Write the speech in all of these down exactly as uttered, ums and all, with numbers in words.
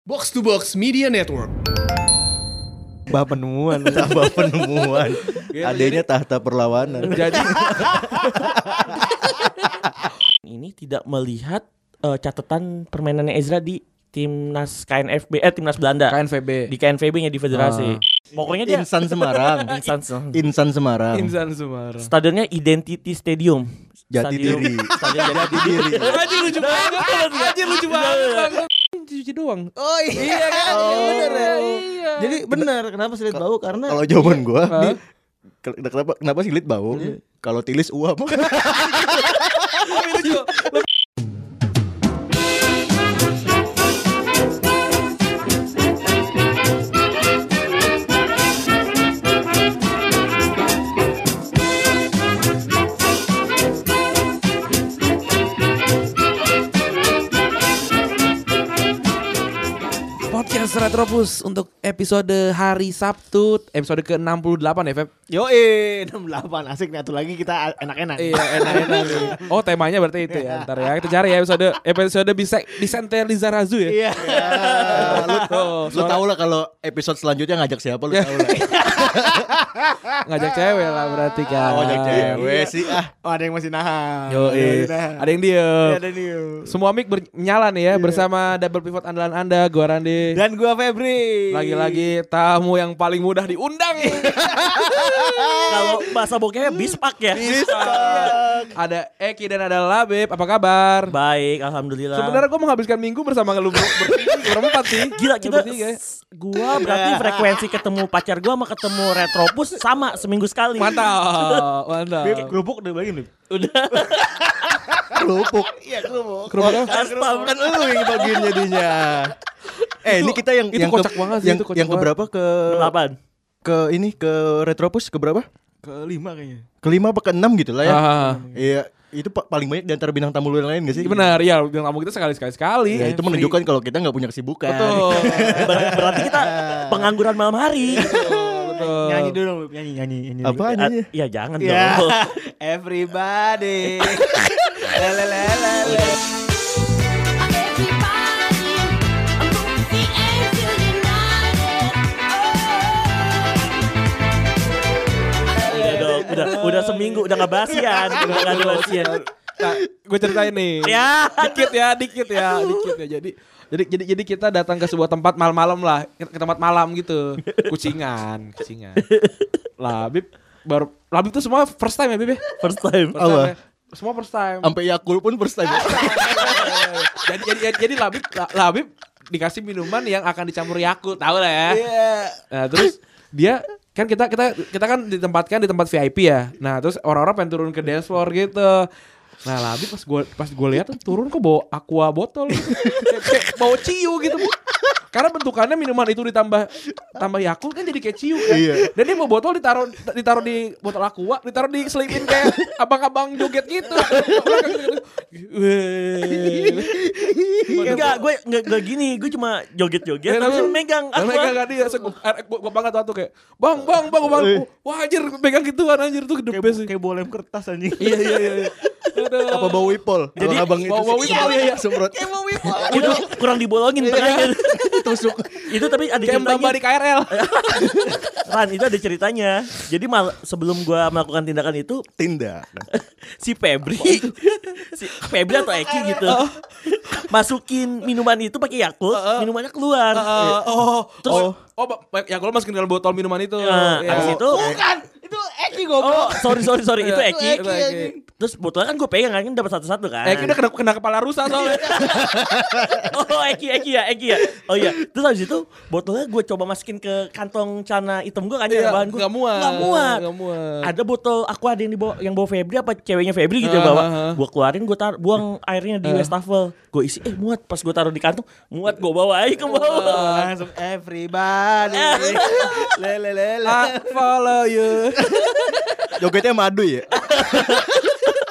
Box to Box Media Network. Bah penemuan, tambah penemuan. Adanya tahta perlawanan. Jadi ini tidak melihat uh, catatan permainannya Ezra di timnas K N F B, eh timnas Belanda. K N V B. Di K N V B-nya di federasi. Ah. Pokoknya dia Insan Semarang. Insan, Insan Semarang. Insan Semarang. Stadionnya Identity Stadium. Jati Stadium, diri. Stadion Jati Diri. Anjir lucu banget. Anjir lucu banget. Cuci doang. Oh iya kan, Oh. iya bener ya. Iya. Jadi benar kenapa sulit bau karena Kalau jawaban gua, Hah? nih, ke- kenapa kenapa sih lit bau? Kalau tilis uap. Lebih lucu. Podcast Retropus untuk episode hari Sabtu, episode ke enam puluh delapan ya, Feb? Yoi enam puluh delapan asik nih atuh lagi kita enak-enak. Iya, enak-enak nih. Oh, temanya berarti itu ya. Ntar ya, kita cari ya episode episode bisa disentel di Zarazu ya. Iya. lu Oh, lu tau lah kalau episode selanjutnya ngajak siapa lu tau lah. ngajak cewek lah berarti kan. Oh, ngajak cewek sih ah. Oh ada yang masih nahan. Yo, Ada yang iya. nahan. Ada yang diem. Ada nih. Semua mic bernyala nih ya bersama double pivot andalan Anda, gua Randi. Dan gua Febri. Lagi-lagi tamu yang paling mudah diundang. Kalau bahasa bokehnya bispak ya. Ada Eki dan ada Labib. Apa kabar? Baik, alhamdulillah. Sebenarnya gue menghabiskan minggu bersama lu ber- ber- berempat sih. Gila kita Bertiga ya. s- gua berarti frekuensi ketemu pacar gua sama ketemu Retropus sama seminggu sekali. Mantap, mantap. Bib, kerupuk udah bagi nih. Udah. Kerupuk. Iya kerupuk. Kerupuk apa? Aspam. Kan lu yang bagian jadinya. Eh, ini kita yang itu yang kocak banget sih, yang, itu kocak yang banget. keberapa ke Delapan. ke ini ke Retropus ke berapa? Kelima kayaknya. Kelima apa keenam gitu lah ya. Ah. Iya, itu pa- paling banyak di antara bintang tamu lu yang lain gak sih? Benar, ya bintang tamu kita sekali-sekali sekali. Ya, itu menunjukkan kalau kita nggak punya kesibukan. Betul. Ber- berarti kita pengangguran malam hari. Betul. Nyanyi dulu dong, Bib. nyanyi nyanyi nyanyi. Apa Ah, nyanyi? Iya jangan Ya. dong. Everybody. Lelelelele. Udah dong, udah udah seminggu udah nggak basian, udah nggak ada basian. Nah, gue ceritain nih. Ya. Dikit ya, dikit ya, dikit ya. Jadi jadi jadi jadi kita datang ke sebuah tempat malam-malam lah, ke, ke tempat malam gitu. Kucingan, kucingan. Labib baru Labib tuh semua first time ya, Bib? ya? First time. First time Allah. ya. Semua first time. Sampai Yakul pun first time. jadi jadi jadi Labib La- Labib dikasih minuman yang akan dicampur Yakult, tahu lah ya. Iya. Nah, terus dia kan kita kita kita kan ditempatkan di tempat V I P ya. Nah, terus orang-orang pengen turun ke dance floor gitu. Nah, Labib pas gue pas gue lihat tuh turun kok bawa aqua botol gitu. kayak, kayak bawa ciu gitu. Karena bentukannya minuman itu ditambah tambah Yakult kan jadi kayak ciu kan. Iya. Dan dia mau botol ditaruh ditaruh di botol aqua, ditaruh di selipin kayak abang-abang joget gitu. Enggak, gue enggak enggak gini, gue cuma joget-joget Ya, terus tapi- megang Dan aqua. megang kan dia, gue gue banget waktu kayak bang bang bang bang, wah anjir pegang gituan anjir tuh the best sih. Kayak bolem kertas anjing. Iya iya iya. Aduh. Apa bau wipol? Jadi, Abang itu bau- bau sih. wipol, iya, iya. Semprot. Itu kurang dibolongin tengahnya. Tusuk. Itu tapi ada Kayak mbak ceritanya. di K R L. Ran, itu ada ceritanya. Jadi mal- sebelum gua melakukan tindakan itu Tindak. si Febri si Febri atau Eki gitu masukin minuman itu pakai Yakult, minumannya keluar. Uh, oh, Terus- oh, oh, ba- ya kalau masukin dalam botol minuman itu. Nah, Ya. habis itu Bukan, itu Eki oh goblok. sorry sorry sorry itu Eki. Itu Eki. Terus botolnya kan gue pegang kan dapat satu-satu kan. Eki udah kena, kena kepala rusa soalnya. Oh Eki Eki ya Eki ya. Oh iya. Terus habis itu botolnya gue coba masukin ke kantong celana hitam gue kan Iya, ya bahan gue. nggak muat. Nggak muat. Nggak muat. Ada botol aqua ada yang dibawa yang bawa Febri apa ceweknya Febri gitu ya Ah, bawa. ah, ah. Gue keluarin gue tar buang airnya di wastafel. Gue isi eh muat pas gue taruh di kantong muat gue bawa aja ke bawah. Langsung everybody. Lelelele. I follow you. Jogetnya madu ya.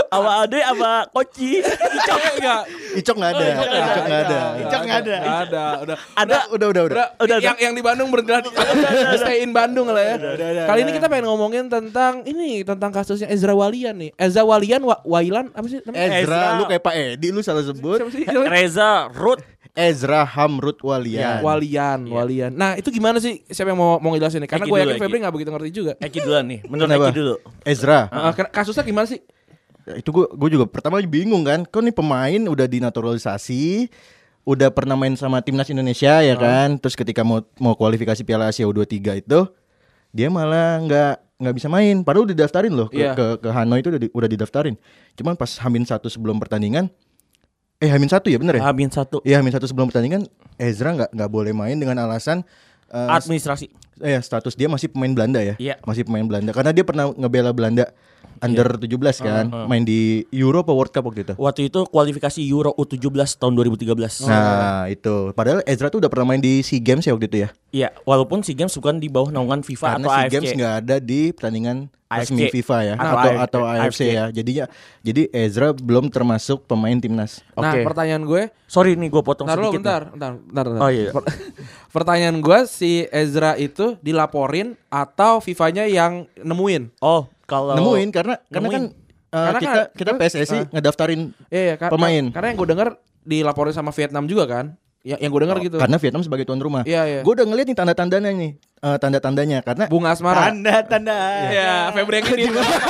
Sama Ade sama Koci. Icok enggak. Icok nggak ada. Icok nggak ada. Icok nggak ada. Enggak ada. Udah. Udah, udah, udah, udah. Udah, yang yang di Bandung berarti stay in Bandung lah ya. Kali ini kita pengen ngomongin tentang ini tentang kasusnya Ezra Walian nih. Ezra Walian Wa- Wailan apa sih namanya? Ezra, Ezra. lu kayak Pak Edi lu salah sebut. Siapa sih? Siapa sih? Reza Ruth. Ezra Hamrut Walian. Walian, Walian. Nah, itu gimana sih? Siapa yang mau mau ngejelasin nih? Karena Eki gue dulu, yakin Eki. Febri enggak begitu ngerti juga. Eki duluan nih. Menurut Kenapa? Eki dulu. Ezra. Heeh, kasusnya gimana sih? Ya, itu gue gue juga pertama bingung kan. Kok nih pemain udah dinaturalisasi, udah pernah main sama timnas Indonesia ya kan. Terus ketika mau mau kualifikasi Piala Asia U dua puluh tiga itu dia malah nggak nggak bisa main. Padahal udah didaftarin loh ke Iya. ke, ke Hanoi itu udah, di- udah didaftarin. Cuman pas Hamin satu sebelum pertandingan, eh Hamin satu ya bener ya? Hamin satu. Iya Hamin satu sebelum pertandingan Ezra nggak nggak boleh main dengan alasan eh, Administrasi. eh status dia masih pemain Belanda ya. Iya. Masih pemain Belanda karena dia pernah ngebela Belanda under tujuh belas kan, main di Euro apa World Cup waktu itu. Waktu itu kualifikasi Euro U tujuh belas tahun dua ribu tiga belas. Nah, itu. Padahal Ezra tuh udah pernah main di SEA Games ya waktu itu ya. Iya, walaupun SEA Games bukan di bawah naungan FIFA Karena atau SEA A F C. Games nggak ada di pertandingan A F C. resmi FIFA ya, Atau atau A F C. atau A F C ya. Jadinya jadi Ezra belum termasuk pemain timnas. Nah, Oke. pertanyaan gue, Sorry nih gue potong bentar lo, sedikit. bentar, bentar, bentar, bentar. Oh, iya. Per- pertanyaan gue, si Ezra itu dilaporin atau FIFA-nya yang nemuin? Oh, kalau Nemuin karena karena kan Nemuin. eh, Karena kita kan- kita P S S I ah. ngedaftarin Iya, iya, kar- Pemain. Karena yang gue dengar dilaporin sama Vietnam juga kan? Ya, yang gue dengar gitu. karena Vietnam sebagai tuan rumah. Iya, iya. Gue udah ngeliat nih tanda-tandanya nih, eh, tanda-tandanya karena Bunga Asmara. Tanda-tanda. Iya, Febri yang ini.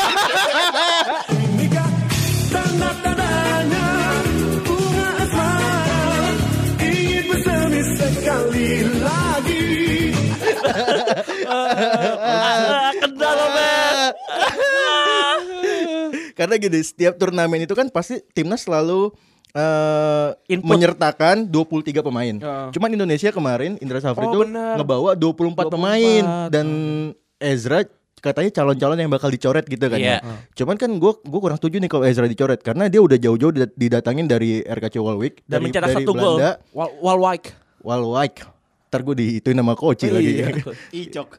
Ah, kendal lo, Ben. Karena gini, setiap turnamen itu kan pasti timnas selalu eh, Input. menyertakan dua puluh tiga pemain. Ya. Cuman Indonesia kemarin Indra Safri Oh, itu benar. ngebawa dua puluh empat dua puluh pemain empat. dan Ezra katanya calon-calon yang bakal dicoret gitu kan Iya. ya. Cuman kan gue gue kurang setuju nih kalau Ezra dicoret karena dia udah jauh-jauh didat- didatangin dari R K C Walwijk Dan dari, mencetak dari satu gol. Belanda, Wal Walwijk. Walwijk. Ntar gue diituin nama Koci lagi. Iya. Icok.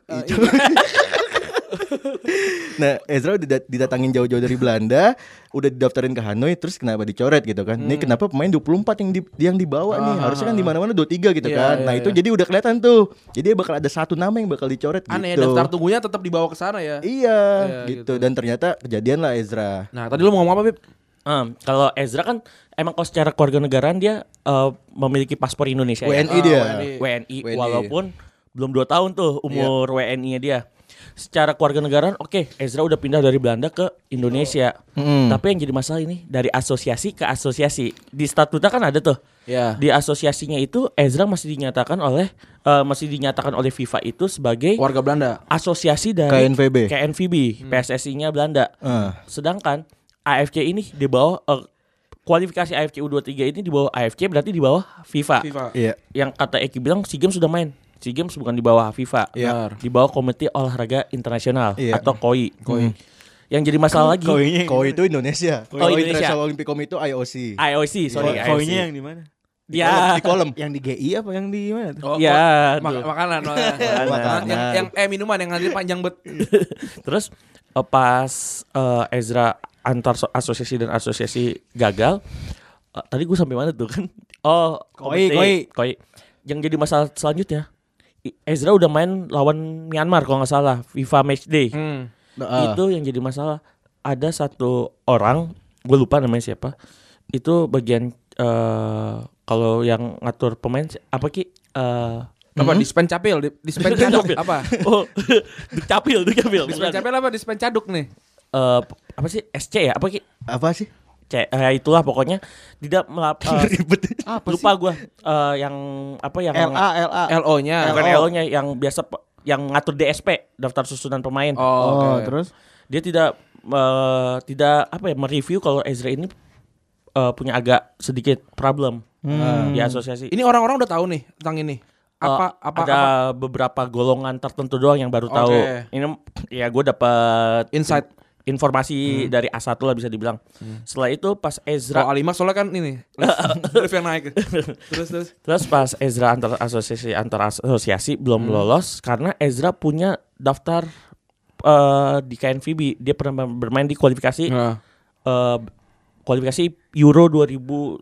Nah, Ezra udah didat- didatangin jauh-jauh dari Belanda, udah didaftarin ke Hanoi, terus kenapa dicoret gitu kan? Ini kenapa pemain dua puluh empat yang di, yang dibawa nih? Harusnya kan di mana-mana dua puluh tiga gitu Iya, kan. iya, Nah, itu iya. jadi udah kelihatan tuh. Jadi bakal ada satu nama yang bakal dicoret Aneh, gitu. daftar tunggunya tetap dibawa ke sana ya. Iya, Iya, gitu. gitu. Dan ternyata kejadian lah Ezra. Nah, tadi lu mau ngomong apa, Bib? Um, kalau Ezra kan emang kalau secara kewarganegaraan dia uh, memiliki paspor Indonesia. W N I ya? dia. W N I. W N I W N I. walaupun belum dua tahun tuh umur W N I-nya dia. Secara kewarganegaraan oke, Ezra udah pindah dari Belanda ke Indonesia. Hmm. Tapi yang jadi masalah ini dari asosiasi ke asosiasi. Di statuta kan ada tuh. Ya. Di asosiasinya itu Ezra masih dinyatakan oleh uh, masih dinyatakan oleh FIFA itu sebagai Warga Belanda. asosiasi dari K N V B. K N V B, P S S I-nya Belanda. Ah. Sedangkan A F C ini di bawah eh, kualifikasi A F C U dua puluh tiga ini di bawah A F C berarti di bawah FIFA. FIFA. Iya. Yang kata Eki bilang SEA Games sudah main. SEA Games bukan di bawah FIFA. Iya. Di bawah Komite Olahraga Internasional Iya. atau K O I. K O I. Yang jadi masalah lagi Koinya. Koi itu Indonesia. Oh, Kalau Indonesia. International Olympic Committee itu I O C. I O C, sorry I O C. Koinya yang di mana? Ya. Di kolom. Yang di G I apa yang di mana tuh? Oh, Ya, oh, mak- tuh. makanan, makanan. Makanan. Yang, yang eh minuman yang nanti panjang bet. Terus eh, pas eh, Ezra antar so- asosiasi dan asosiasi gagal, eh, tadi gue sampai mana tuh kan? Oh, Koi, komite- koi. koi. Yang jadi masalah selanjutnya, I- Ezra udah main lawan Myanmar kalau nggak salah, FIFA Matchday. Hmm. Ah. Itu yang jadi masalah. Ada satu orang, gue lupa namanya siapa. Itu bagian eh, kalau yang ngatur pemain si- apa ki? Eh, Apa dispen capil, di- dispen caduk apa? oh, Dukcapil, Dukcapil. Dispen capil apa dispen caduk nih? Eh, apa sih S C ya? Apa ki? Apa sih? C, eh, itulah pokoknya tidak melap. eh, Ribet. lupa gue eh, yang apa yang L A L A. L O-nya. bukan L O-nya yang biasa pe- yang ngatur D S P daftar susunan pemain. Oh, Oh, oke. terus Dia tidak eh, tidak apa ya mereview kalau Ezra ini eh, punya agak sedikit problem eh, di asosiasi. Ini orang-orang udah tahu nih tentang ini. Apa Eh, apa ada apa beberapa golongan tertentu doang yang baru tahu. Oke. Ini ya gue dapat insight. informasi dari A satu lah bisa dibilang. Setelah itu pas Ezra Oh, Alima soalnya kan ini lift yang naik. Terus terus. terus pas Ezra antar asosiasi antar asosiasi belum lolos karena Ezra punya daftar eh, di K N V B. Dia pernah bermain di kualifikasi Nah. uh, kualifikasi Euro dua ribu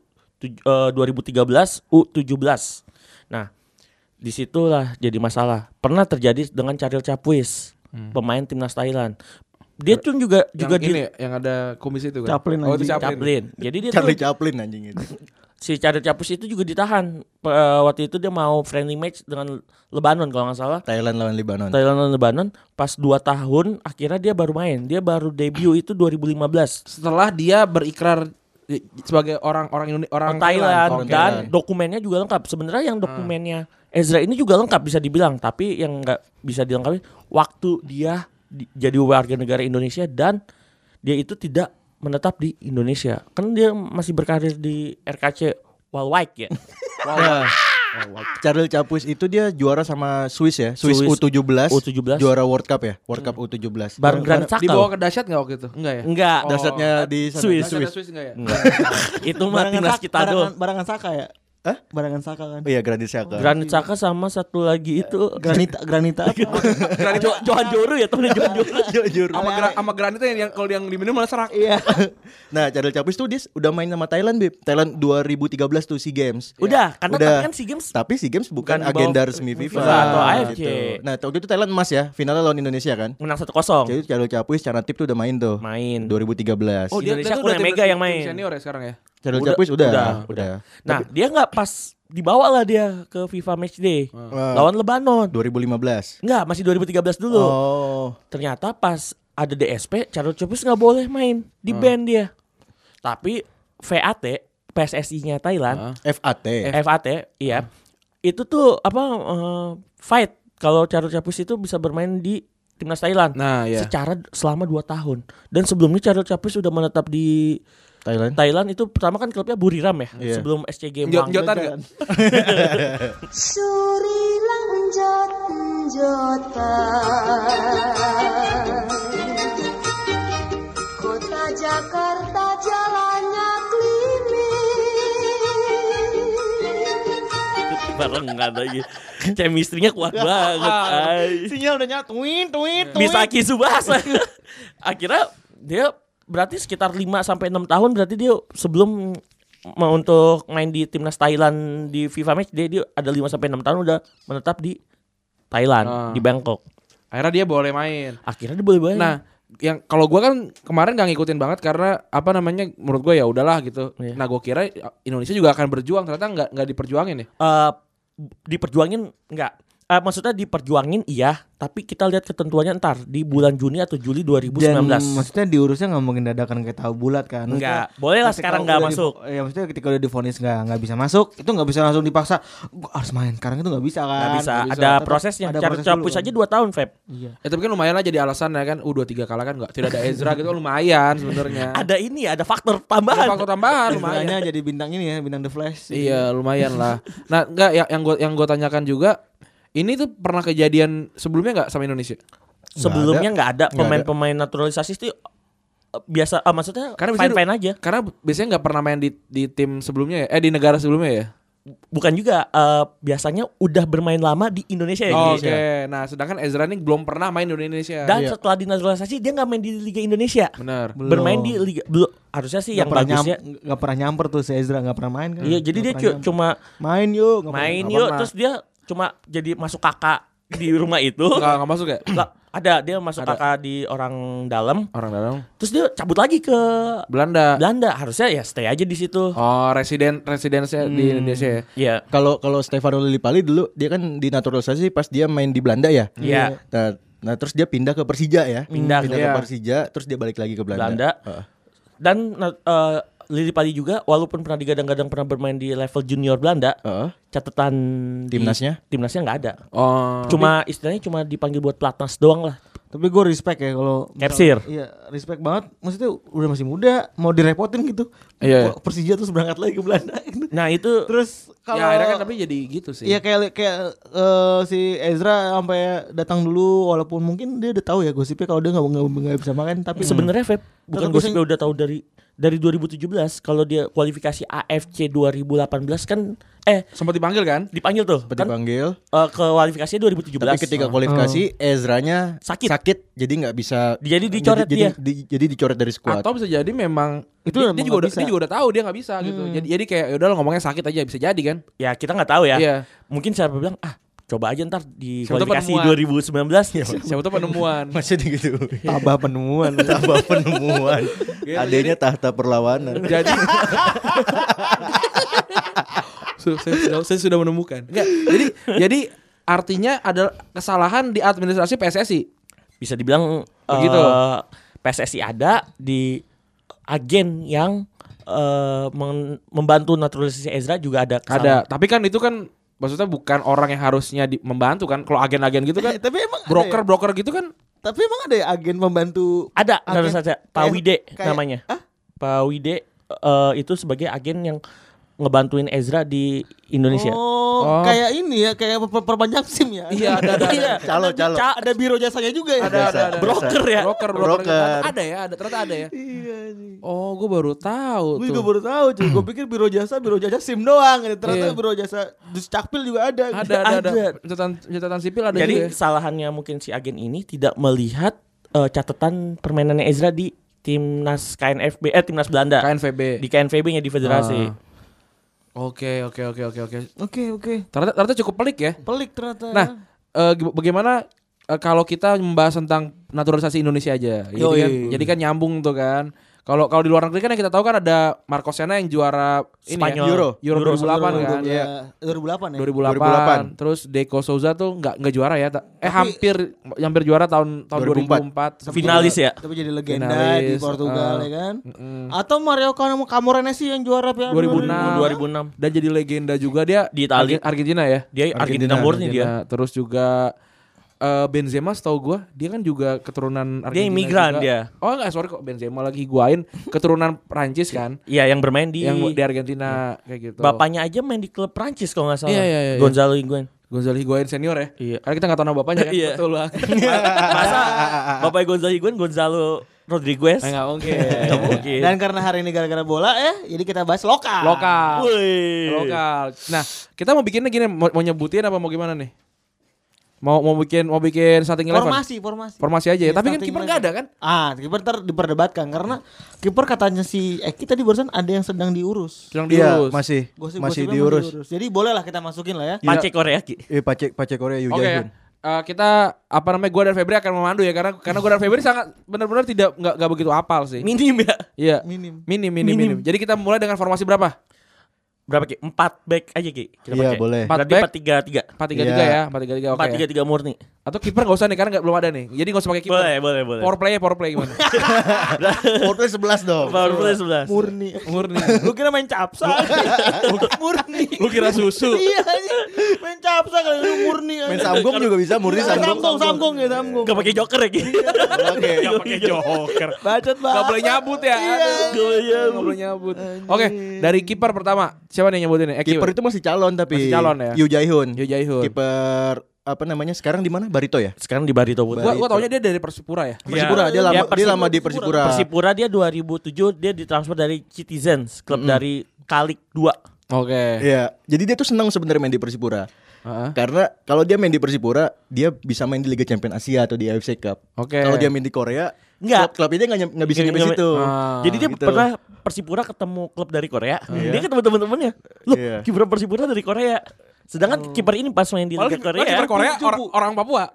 tiga belas U tujuh belas. Nah, disitulah jadi masalah. Pernah terjadi dengan Charil Capuis, hmm. pemain timnas Thailand. Dia tuh juga yang juga ini di ya, yang ada kumis itu kan. Chaplin oh itu anjing. Chaplin. Chaplin. Jadi dia Charlie tuh Chaplin anjing itu. si Charil Capuis itu juga ditahan. Uh, waktu itu dia mau friendly match dengan Lebanon kalau nggak salah. Thailand lawan Lebanon. Thailand lawan Lebanon. Pas dua tahun akhirnya dia baru main. Dia baru debut itu dua ribu lima belas. Setelah dia berikrar sebagai orang orang Indonesia orang Thailand, Thailand. dan Thailand. dokumennya juga lengkap. Sebenarnya yang dokumennya Ezra ini juga lengkap bisa dibilang, tapi yang nggak bisa dilengkapi waktu dia di, jadi warga negara Indonesia dan dia itu tidak menetap di Indonesia. Kan dia masih berkarir di R K C Waalwijk ya. Nah, Charlie Capuis itu dia juara sama Swiss ya, Swiss, Swiss U tujuh belas, U tujuh belas. juara World Cup ya, World Cup U tujuh belas. Bareng Granit Xhaka. Dibawa ke dahsyat enggak waktu itu? Enggak ya? Enggak. Oh. Dasarnya di sana. Swiss. Dahsyatnya Swiss enggak ya? Enggak. Itu mah Barangan timnas Saka- kita barangan, doang. barangan Saka ya? Hah? Barangan Saka kan? Oh iya, Granit Xhaka. Granit Xhaka sama satu lagi itu Granita Granita apa? Granit Jo- Johan Joru ya temennya Johan Joru. Jujur. sama gra, sama Granit yang, yang kalau yang diminum malah serak. Iya. Nah, Charlie Capuis tuh dia udah main sama Thailand, Bib. Thailand dua ribu tiga belas tuh SEA Games. Udah, karena Udah. tapi kan SEA Games Tapi SEA Games bukan, Bukan di bawah agenda resmi FIFA FIFA atau A F C. gitu. Nah, waktu itu Thailand emas ya, finalnya lawan Indonesia kan. menang satu kosong. Jadi Charlie Capuis, Canatip tuh udah main tuh. Main. dua ribu tiga belas. Oh, dia, Indonesia dia tuh kurang udah mega tim- yang tim main. senior ya sekarang ya. Charlie Udah, Capuis udah, udah, udah. Nah, dia nggak pas dibawa lah dia ke FIFA Matchday Wah. lawan Lebanon. dua ribu lima belas. Enggak, masih dua ribu tiga belas dulu. Oh. Ternyata pas ada D S P, Charles Capuis nggak boleh main, di ban dia. Tapi V A T, P S S I-nya Thailand, F A T. F A T, iya. Itu tuh apa eh, fight kalau Charles Capuis itu bisa bermain di timnas Thailand. Nah, ya. Secara selama dua tahun. Dan sebelumnya Charles Capuis sudah menetap di Thailand. Thailand itu pertama kan klubnya Buriram ya, Iya. sebelum S C G Jot- Malang. Jotan enggak? Surilang jot jotan Kota Jakarta jalannya klimis Barengan lagi. Chemistry-nya kuat banget. Ay. Sinyal udah nyatuin, tuin, tuin. Misaki Subasa. Akhirnya dia berarti sekitar lima sampai enam tahun berarti dia sebelum mau untuk main di timnas Thailand di FIFA Match dia, dia ada lima sampai enam tahun udah menetap di Thailand, Ah. di Bangkok. Akhirnya dia boleh main. Akhirnya dia boleh main. Nah, yang kalau gua kan kemarin gak ngikutin banget karena apa namanya menurut gua ya udahlah gitu. Iya. Nah, gua kira Indonesia juga akan berjuang, ternyata nggak nggak diperjuangin ya. Eh, diperjuangin enggak? Eh, maksudnya diperjuangin iya, tapi kita lihat ketentuannya ntar di bulan Juni atau Juli dua ribu sembilan Dan belas. maksudnya diurusnya nggak mungkin dadakan kayak tahu bulat kan. Enggak, Maksudnya boleh lah ketika sekarang nggak udah masuk. Di, ya maksudnya ketika udah divonis nggak nggak bisa masuk, itu nggak bisa langsung dipaksa. Gua harus main sekarang itu nggak bisa kan. Nggak bisa, nggak bisa. ada Tetap prosesnya. ada Cara proses Capuis dulu, aja kan. dua tahun, Feb. Iya. Ya tapi kan lumayan lah jadi alasan ya kan. U dua puluh tiga kalah kan nggak tidak ada Ezra gitu lumayan sebenarnya. Ada ini, ada faktor Ada tambahan. faktor tambahan lumayan. Istilahnya jadi bintang ini ya, bintang The Flash. Iya lumayan lah. Nah enggak yang yang gue yang gue tanyakan juga ini tuh pernah kejadian sebelumnya nggak sama Indonesia? Sebelumnya nggak ada Nggak pemain-pemain naturalisasi itu eh, biasa, ah, maksudnya Karena biasanya- fine-fine aja. Karena biasanya nggak pernah main di di tim sebelumnya ya, eh di negara sebelumnya ya. Bukan juga eh, biasanya udah bermain lama di Indonesia ya. Oke, Indonesia. nah sedangkan Ezra ini belum pernah main di Indonesia. Dan Iya. setelah dinaturalisasi dia nggak main di Liga Indonesia. Benar. Belum. Bermain di Liga belum, harusnya sih yang Nggak pernah bagusnya. nyam- nggak pernah nyamper tuh si Ezra, nggak pernah main kan. Iya, jadi Nggak dia pernah cu- nyamper. cuma main yuk, nggak pernah- main nggak yuk pernah. terus dia cuma jadi masuk kakak di rumah itu. Nggak nggak masuk ya? Nggak, ada dia masuk Ada. kakak di orang dalam. Orang dalam. Terus dia cabut lagi ke Belanda. Belanda. Harusnya ya stay aja di situ. Oh, residen residensinya di Indonesia ya. Iya. Kalau kalau Stefano Lillipali dulu dia kan dinaturalisasi pas dia main di Belanda ya. Iya. Nah, nah terus dia pindah ke Persija ya. Pindah pindah ke- ke Persija, terus dia balik lagi ke Belanda. Belanda. Heeh. Dan uh, Lili Pali juga walaupun pernah digadang-gadang pernah bermain di level junior Belanda, Heeh. catatan di- Timnasnya? timnasnya nggak ada. Oh. Cuma istilahnya cuma dipanggil buat pelatnas doang lah. Tapi gue respect ya kalau misal- Capsir. Iya, respect banget. Maksudnya udah masih muda, mau direpotin gitu. Iya. Kok Persija terus berangkat lagi ke Belanda. gitu. Nah itu Terus kalau Ya akhirnya kan tapi jadi gitu sih. Iya kayak kayak eh, si Ezra sampai datang dulu walaupun mungkin dia udah tahu ya gosipnya kalau dia nggak nggak nggak bisa makan tapi sebenarnya Feb bukan Tetap gosipnya udah tahu dari dari dua ribu tujuh belas kalau dia kualifikasi A F C dua ribu delapan belas kan eh Sempat dipanggil kan? dipanggil tuh Seperti kan panggil. eh, kualifikasinya dua ribu tujuh belas. Tapi ketika kualifikasi Ezranya Sakit. sakit jadi nggak bisa. Jadi dicoret jadi, dia. Jadi, di- jadi dicoret dari skuad. Atau bisa jadi memang Itu dia, emang dia juga nggak udah bisa. dia juga udah tahu dia nggak bisa gitu. Jadi jadi kayak yaudah lo ngomongnya sakit aja bisa jadi kan? Ya kita nggak tahu ya. Iya. Mungkin siapa bilang ah coba aja ntar di Siapa tahu kualifikasi penemuan. dua ribu sembilan belas ya. Siapa tuh penemuan. Masih gitu. Tabah penemuan. Tambah penemuan. Iya, Adanya tahta perlawanan. Jadi Su- saya, sudah, saya sudah menemukan. Enggak. Jadi jadi artinya ada kesalahan di administrasi P S S I. Bisa dibilang Begitu. eh, P S S I ada di agen yang eh, meng- membantu naturalisasi Ezra juga ada Ada. kesalahan. Tapi kan itu kan maksudnya bukan orang yang harusnya di, membantu kan. Kalau agen-agen gitu kan Eh, tapi emang ada ya? broker-broker gitu kan Tapi emang ada ya agen pembantu Ada, Agen. harus ada Pak Kayak- Wide kayak- namanya. Hah? Pak Wide eh, itu sebagai agen yang ngebantuin Ezra di Indonesia. Oh, Oh. kayak ini ya, kayak per- perpanjang SIM ya. Iya, ada, ada, ada. Iya, Calo, ada- calo. Ada biro jasanya juga ya. ada ada ada. Broker ya? Broker, broker. Broker. Ada, ada ya, ada ternyata ada ya. Iya sih. Oh, gue baru tahu Gue tuh. juga baru tahu cuy. Gue pikir biro jasa, biro jasa SIM doang. Ternyata Iya. biro jasa Duscapil juga ada. Ada, ada, ada. Ada. Catatan, catatan sipil ada Jadi juga. ya. kesalahannya mungkin si agen ini tidak melihat eh, catatan permainannya Ezra di timnas K N F B eh timnas Belanda. K N V B. Di K N V B-nya di federasi. Ah. Oke, oke, oke, oke, oke. Oke, oke. Ternyata, ternyata cukup pelik ya. Pelik ternyata. Nah, eh, gi- bagaimana eh, kalau kita membahas tentang naturalisasi Indonesia aja? Jadi Yoi. kan, jadi kan nyambung tuh kan. Kalau kalau di luar negeri kan yang kita tahu kan ada Marco Senna yang juara ini Spanyol. ya, Euro. Euro, dua ribu delapan kan. Iya. dua ribu delapan ya. dua ribu delapan. dua ribu delapan. Terus Deco Souza tuh nggak nggak juara ya. ta- Eh Tapi- hampir hampir juara tahun tahun dua dua ribu ribu empat. empat. Finalis ya. Tapi jadi legenda Finalis, di Portugal uh, ya kan. Mm-mm. Atau Mario Cam- Camoranesi yang juara Piala dua ribu enam. dua ribu enam. Dan jadi legenda juga dia Di Italia. Argen- Argentina ya. Dia Argentina, murni dia. Argentina. Terus juga eh, Benzema setahu gua dia kan juga keturunan Argentina. imigran juga. dia. Oh enggak, sorry kok Benzema lagi higuain keturunan Prancis kan. Iya, yang bermain di Yang di Argentina kayak gitu. bapaknya aja main di klub Prancis kalau nggak salah. Iya, iya, iya, iya. Gonzalo Higuain. Gonzalo Higuain senior ya. Iya. Karena kita enggak tahu nama bapaknya kan. Iya. Betul lah. Masa bapak Gonzalo Higuain Gonzalo Rodriguez? Enggak mungkin. Nggak mungkin. Dan karena hari ini gara-gara bola ya, jadi kita bahas lokal. Lokal. Wih. Lokal. Nah, kita mau bikinnya gini, mau, mau nyebutin apa mau gimana nih? Mau mau bikin mau bikin starting eleven? Formasi, formasi. Formasi aja ya. Iya, Tapi kan starting kiper eleven. enggak ada kan? Ah, kiper ntar diperdebatkan karena kiper katanya si Eki tadi barusan ada yang sedang diurus. Sedang Iya, diurus. masih Gosip-gosipnya masih diurus. Jadi bolehlah kita masukin lah ya. Pace Korea Ki. Eh Pace Pace Korea Yu Oke. Jae-hoon. eh, kita apa namanya gue dan Febri akan memandu ya karena karena gue dan Febri sangat benar-benar tidak nggak nggak begitu apal sih. Minim ya. Iya. Minim. Minim, minim, minim. Minim. Jadi kita mulai dengan formasi berapa? Berapa Ki? Empat back aja Ki. Kita Iya, pakai. boleh. Empat Berarti back. empat tiga tiga. empat tiga tiga Iya. ya, empat tiga tiga oke. Empat tiga tiga murni. Atau kiper nggak usah nih karena nggak belum ada nih. Jadi nggak usah pakai kiper. Boleh, boleh, boleh. Power play, power play gimana? Porto sebelas dong. Power play sebelas. Murni. Murni. Lu kira main capsa. Murni. Lu kira susu? Iya, iya. Main capsa kalau lu murni. Main Samgong juga bisa, murni Samgong. Samgong, Samgong ya, Samgong. Gak pakai joker ya Ki. Oke. Gak pakai joker. Bacot banget. Gak boleh nyabut ya. Iya. Aduh, Gak boleh nyabut. Oke, dari kiper pertama siapa nih yang nyebutin nih? Eh, Kiper itu masih calon tapi Masih calon ya? Yu Jae-hoon. Yu Jae-hoon. Kiper apa namanya? Sekarang di mana? Barito ya? Sekarang di Barito Putra. Gua gua taunya dia dari Persipura ya. Persipura, dia Iya, lama dia Persipura. lama di Persipura. Persipura dia dua ribu tujuh dia ditransfer dari Citizens, klub dari Kalik dua. Oke. Iya, jadi dia tuh senang sebenarnya main di Persipura. Heeh. Karena kalau dia main di Persipura, dia bisa main di Liga Champions Asia atau di A F C Cup. Oke. Kalau dia main di Korea, Enggak. klub, klub ini nggak nyam- nggak bisa Nggak- nyampe nggak- situ. Ah. Jadi dia gitu. pernah Persipura ketemu klub dari Korea. Dia ketemu teman-temannya. Loh, Iya. kiper Persipura dari Korea. Sedangkan kiper ini pas main di Malah Liga Korea. kiper Korea orang, orang Papua.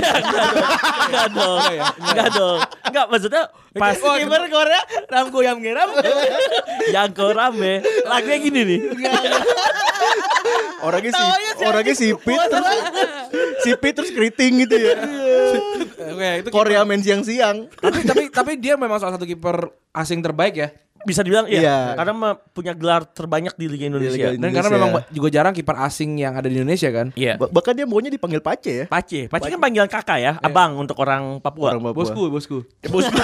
Enggak dong. Enggak dong. Enggak maksudnya pas Kiper Korea Ramko yang ngeram. yang rame lagunya gini nih. Orangnya si orangnya sipit terus sipit terus keriting gitu ya. Oke, itu Korea main siang-siang. tapi tapi tapi dia memang salah satu kiper asing terbaik ya. Bisa dibilang iya. Iya. Karena mah punya gelar terbanyak di Liga Indonesia. Liga Dan karena Indonesia. memang ba- juga jarang kiper asing yang ada di Indonesia kan. Iya. Ba- Bahkan dia maunya dipanggil Pace ya. Pace, Pace kan panggilan kakak ya, abang untuk orang Papua. Orang Papua. Bosku, bosku. Bosku.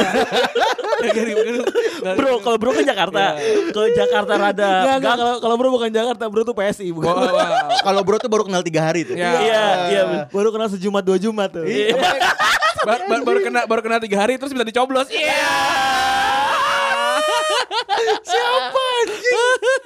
Bro, kalau bro ke Jakarta, ke Jakarta rada Enggak, enggak, gang. kalau kalau bro bukan Jakarta, bro tuh P S I bukan. Wah, wah. Kalau bro tuh baru kenal tiga hari tuh. Ya. Iya, iya. bener. Baru kenal sejumat dua Jumat tuh. Iya. Ba- ba- baru kena baru kena tiga hari terus bisa dicoblos. Iya. Siapa anjing?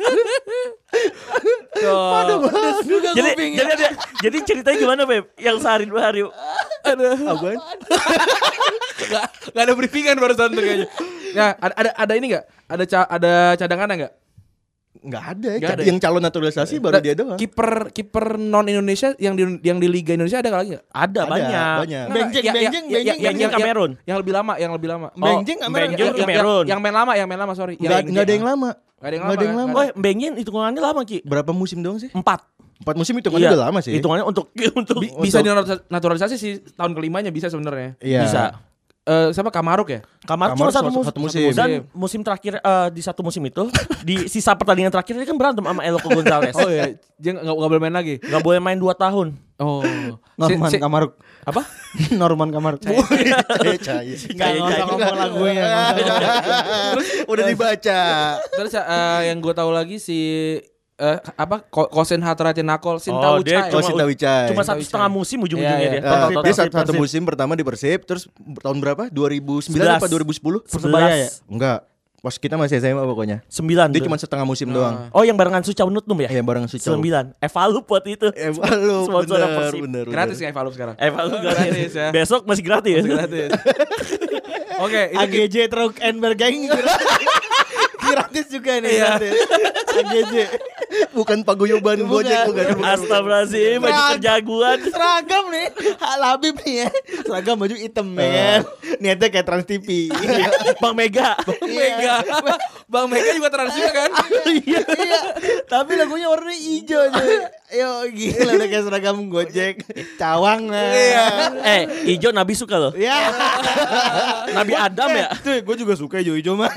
Jadi jadi ada, jadi ceritanya gimana, Beb? Yang sehari dua hari. Ada Apaan? Gak, gak ada briefingan barusan tuh kayaknya. Ya, ada ada, ada ini enggak? Ada ca- ada cadangan enggak? Enggak ada. Nggak ada. Yang calon naturalisasi baru dia doang. Kiper kiper non Indonesia yang di yang di Liga Indonesia ada lagi enggak? Ada, Ada, banyak. banyak. Benjeng, Ya, ya, benjeng, ya, benjeng, ya, Benjeng Kamerun. Yang, yang lebih lama, yang lebih lama. Benjeng Oh, Kamerun. Benjeng Yang, yang, Kamerun. yang main lama, yang main lama, sorry. Enggak Yang- enggak ada yang lama. Nggak ada yang Nggak ada yang lama, lama. Oh, Benjeng hitungannya lama, Ki. Berapa musim doang sih? Empat. Empat musim itu kan udah lama sih. Hitungannya untuk untuk Bi- bisa dinaturalisasi sih tahun kelimanya bisa sebenarnya. Iya. bisa. Eh siapa Kamaruk ya? Kamar Kamar cuma satu, satu- mus- satu musim. Dan musim terakhir eh, di satu musim itu di sisa pertandingan terakhir dia kan berantem sama Eloko Gonzalez. Oh iya, dia nggak nggak boleh main lagi. Gak boleh main dua tahun. Oh, Norman Si- si- Kamaruk. Apa? Norman Kamaruk. Cahaya, cahaya. Enggak usah ngomong lagunya. Udah dibaca. Terus eh, yang gue tahu lagi si eh, apa Ko- Kosen Hatratinakol Sinta Oh, dia Ucai. Oh, Sinta Wicai. Cuma satu Wicai. setengah musim ujung-ujungnya Iya, dia. iya. Eh, Total, dia total. satu, satu Persib. musim pertama di Persib, terus tahun berapa? dua ribu sembilan apa dua ribu sepuluh? Persebaya ya? Enggak. Pas kita masih S M A pokoknya. Sembilan. Dia tuh. cuma setengah musim doang. Oh, yang barengan Suca Nutnum ya? Eh, yang bareng Sucau. Sembilan. Evalup buat itu. Eh, lu Sponsor bener, Persib. bener, Gratis bener. ya Evalup sekarang. Evalup Gratis gratis ya. Besok masih gratis. Gratis. Oke, itu A G J Truck and Bergeng gratis juga nih, Iya. gratis. A G J. Bukan paguyuban Gojek bukan. bukan. Astagfirullahaladzim, baju Serag- kerjaguan. Seragam nih, Hal Habib nih ya. Seragam baju hitam ya kan. Niatnya kayak Trans T V. Bang Mega. Mega. Bang Mega juga trans juga kan? Iya, iya. Tapi lagunya warnanya hijau tuh. Yo gila udah kayak seragam Gojek. Cawang lah. Iya. Eh, Ijo Nabi suka loh. Ya. Nabi Adam ya. Tuh, gue juga suka hijau-hijau mah.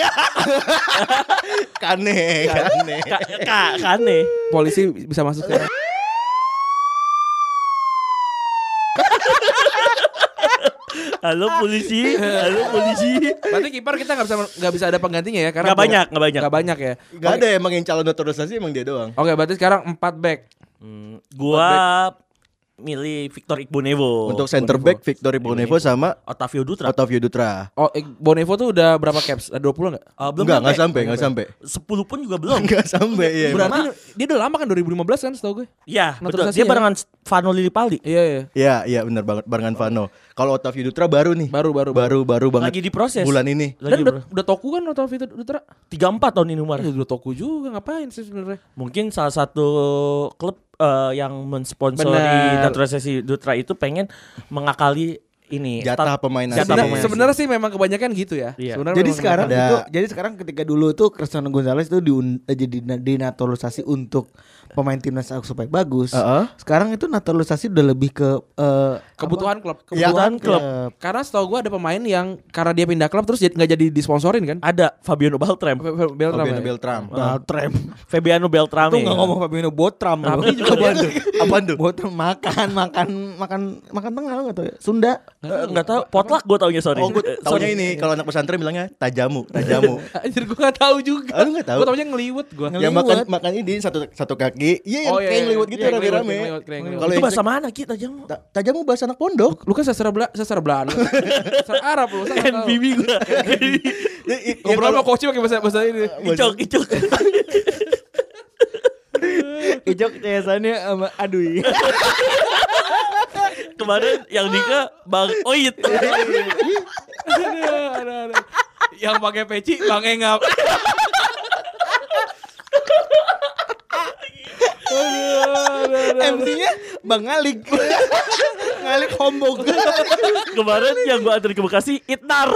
Kane, kane. Kak, kak, kane. Polisi bisa masuk sekarang. Halo polisi, halo polisi. Berarti kiper kita nggak bisa nggak bisa ada penggantinya ya? Karena Gak banyak, gak banyak. Nggak banyak ya. Gak ada emang yang calon naturalisasi emang dia doang. Oke, berarti sekarang empat back. Hmm, gua milih Victor Igbonevo. Untuk center back Victor Ibonevo sama Otavio Dutra. Otavio Dutra. Oh, eh, Bonevo tuh udah berapa caps? Ada dua puluh enggak? Uh, belum Enggak, enggak nyampe. sampai, enggak sampai. sepuluh pun juga belum. Enggak sampai iya. emang. Berarti dia udah lama kan dua ribu lima belas kan setahu gue. Iya, betul. Naturalisasi Dia ya? barengan Vano Lillipaldi. Iya, iya. Iya, iya benar banget barengan Vano. Kalau Otavio Dutra baru nih. Baru baru Baru baru banget. Lagi diproses. Bulan ini. Lagi Dan udah, udah toku kan atau Vito Dutra? tiga puluh empat tahun ini umur. Ya, udah toku juga ngapain sih sebenarnya? Mungkin salah satu klub eh, yang mensponsori Benar. naturalisasi Dutra itu pengen mengakali ini Jatah stat- pemain jatah asing. Sebenarnya, pemain sebenarnya sih memang kebanyakan gitu ya. Iya. Sebenarnya Jadi memang sekarang ada- itu jadi sekarang ketika dulu tuh Cristiano Gonzalez itu diun, eh, jadi dinaturalisasi untuk pemain timnas supaya bagus. Heeh. Sekarang itu naturalisasi udah lebih ke eh, kebutuhan klub. Ya, kebutuhan klub. Karena setahu gue ada pemain yang karena dia pindah klub terus jadi nggak jadi disponsorin kan? Ada Fabiano Beltram. Beltram. Fabiano ya? Beltram. Beltram. Fabiano Beltram. Itu nggak ngomong Fabiano Botram. Tapi juga Apaan tuh? Apaan tuh? Botram makan makan makan makan tengah nggak tahu ya? Sunda. Enggak tahu, potluck gue taunya sorry. Oh, gue Eh, taunya sorry. ini kalau anak pesantren bilangnya tajamu, tajamu. Anjir gue gak tahu juga. Ah, lu nggak tahu? Gue taunya ngeliwet gue. Ya makan makan ini satu satu kaki. Iya yang Oh, iya, kayak iya. ngeliwet gitu Iya, ngeliwet, rame-rame. ngeliwet, ngeliwet, ngeliwet. Kalau Itu yang bahasa mana kita jam? ta- tajamu bahasa anak pondok. Lu kan sastra Bela, sastra Belanda. Sastra Arab lu. Kan bibi gue. Ya, i- ya Ngobrol kalau- sama coach pakai bahasa bahasa ini. Icok, icok. Ijok cesannya sama aduh. Kemarin yang nikah Bang Oit. Aduh, aduh, aduh. Yang pakai peci Bang Engap. M C-nya Bang Ngalik. Ngalik hombong. Kemarin yang gue antar ke Bekasi Itnar.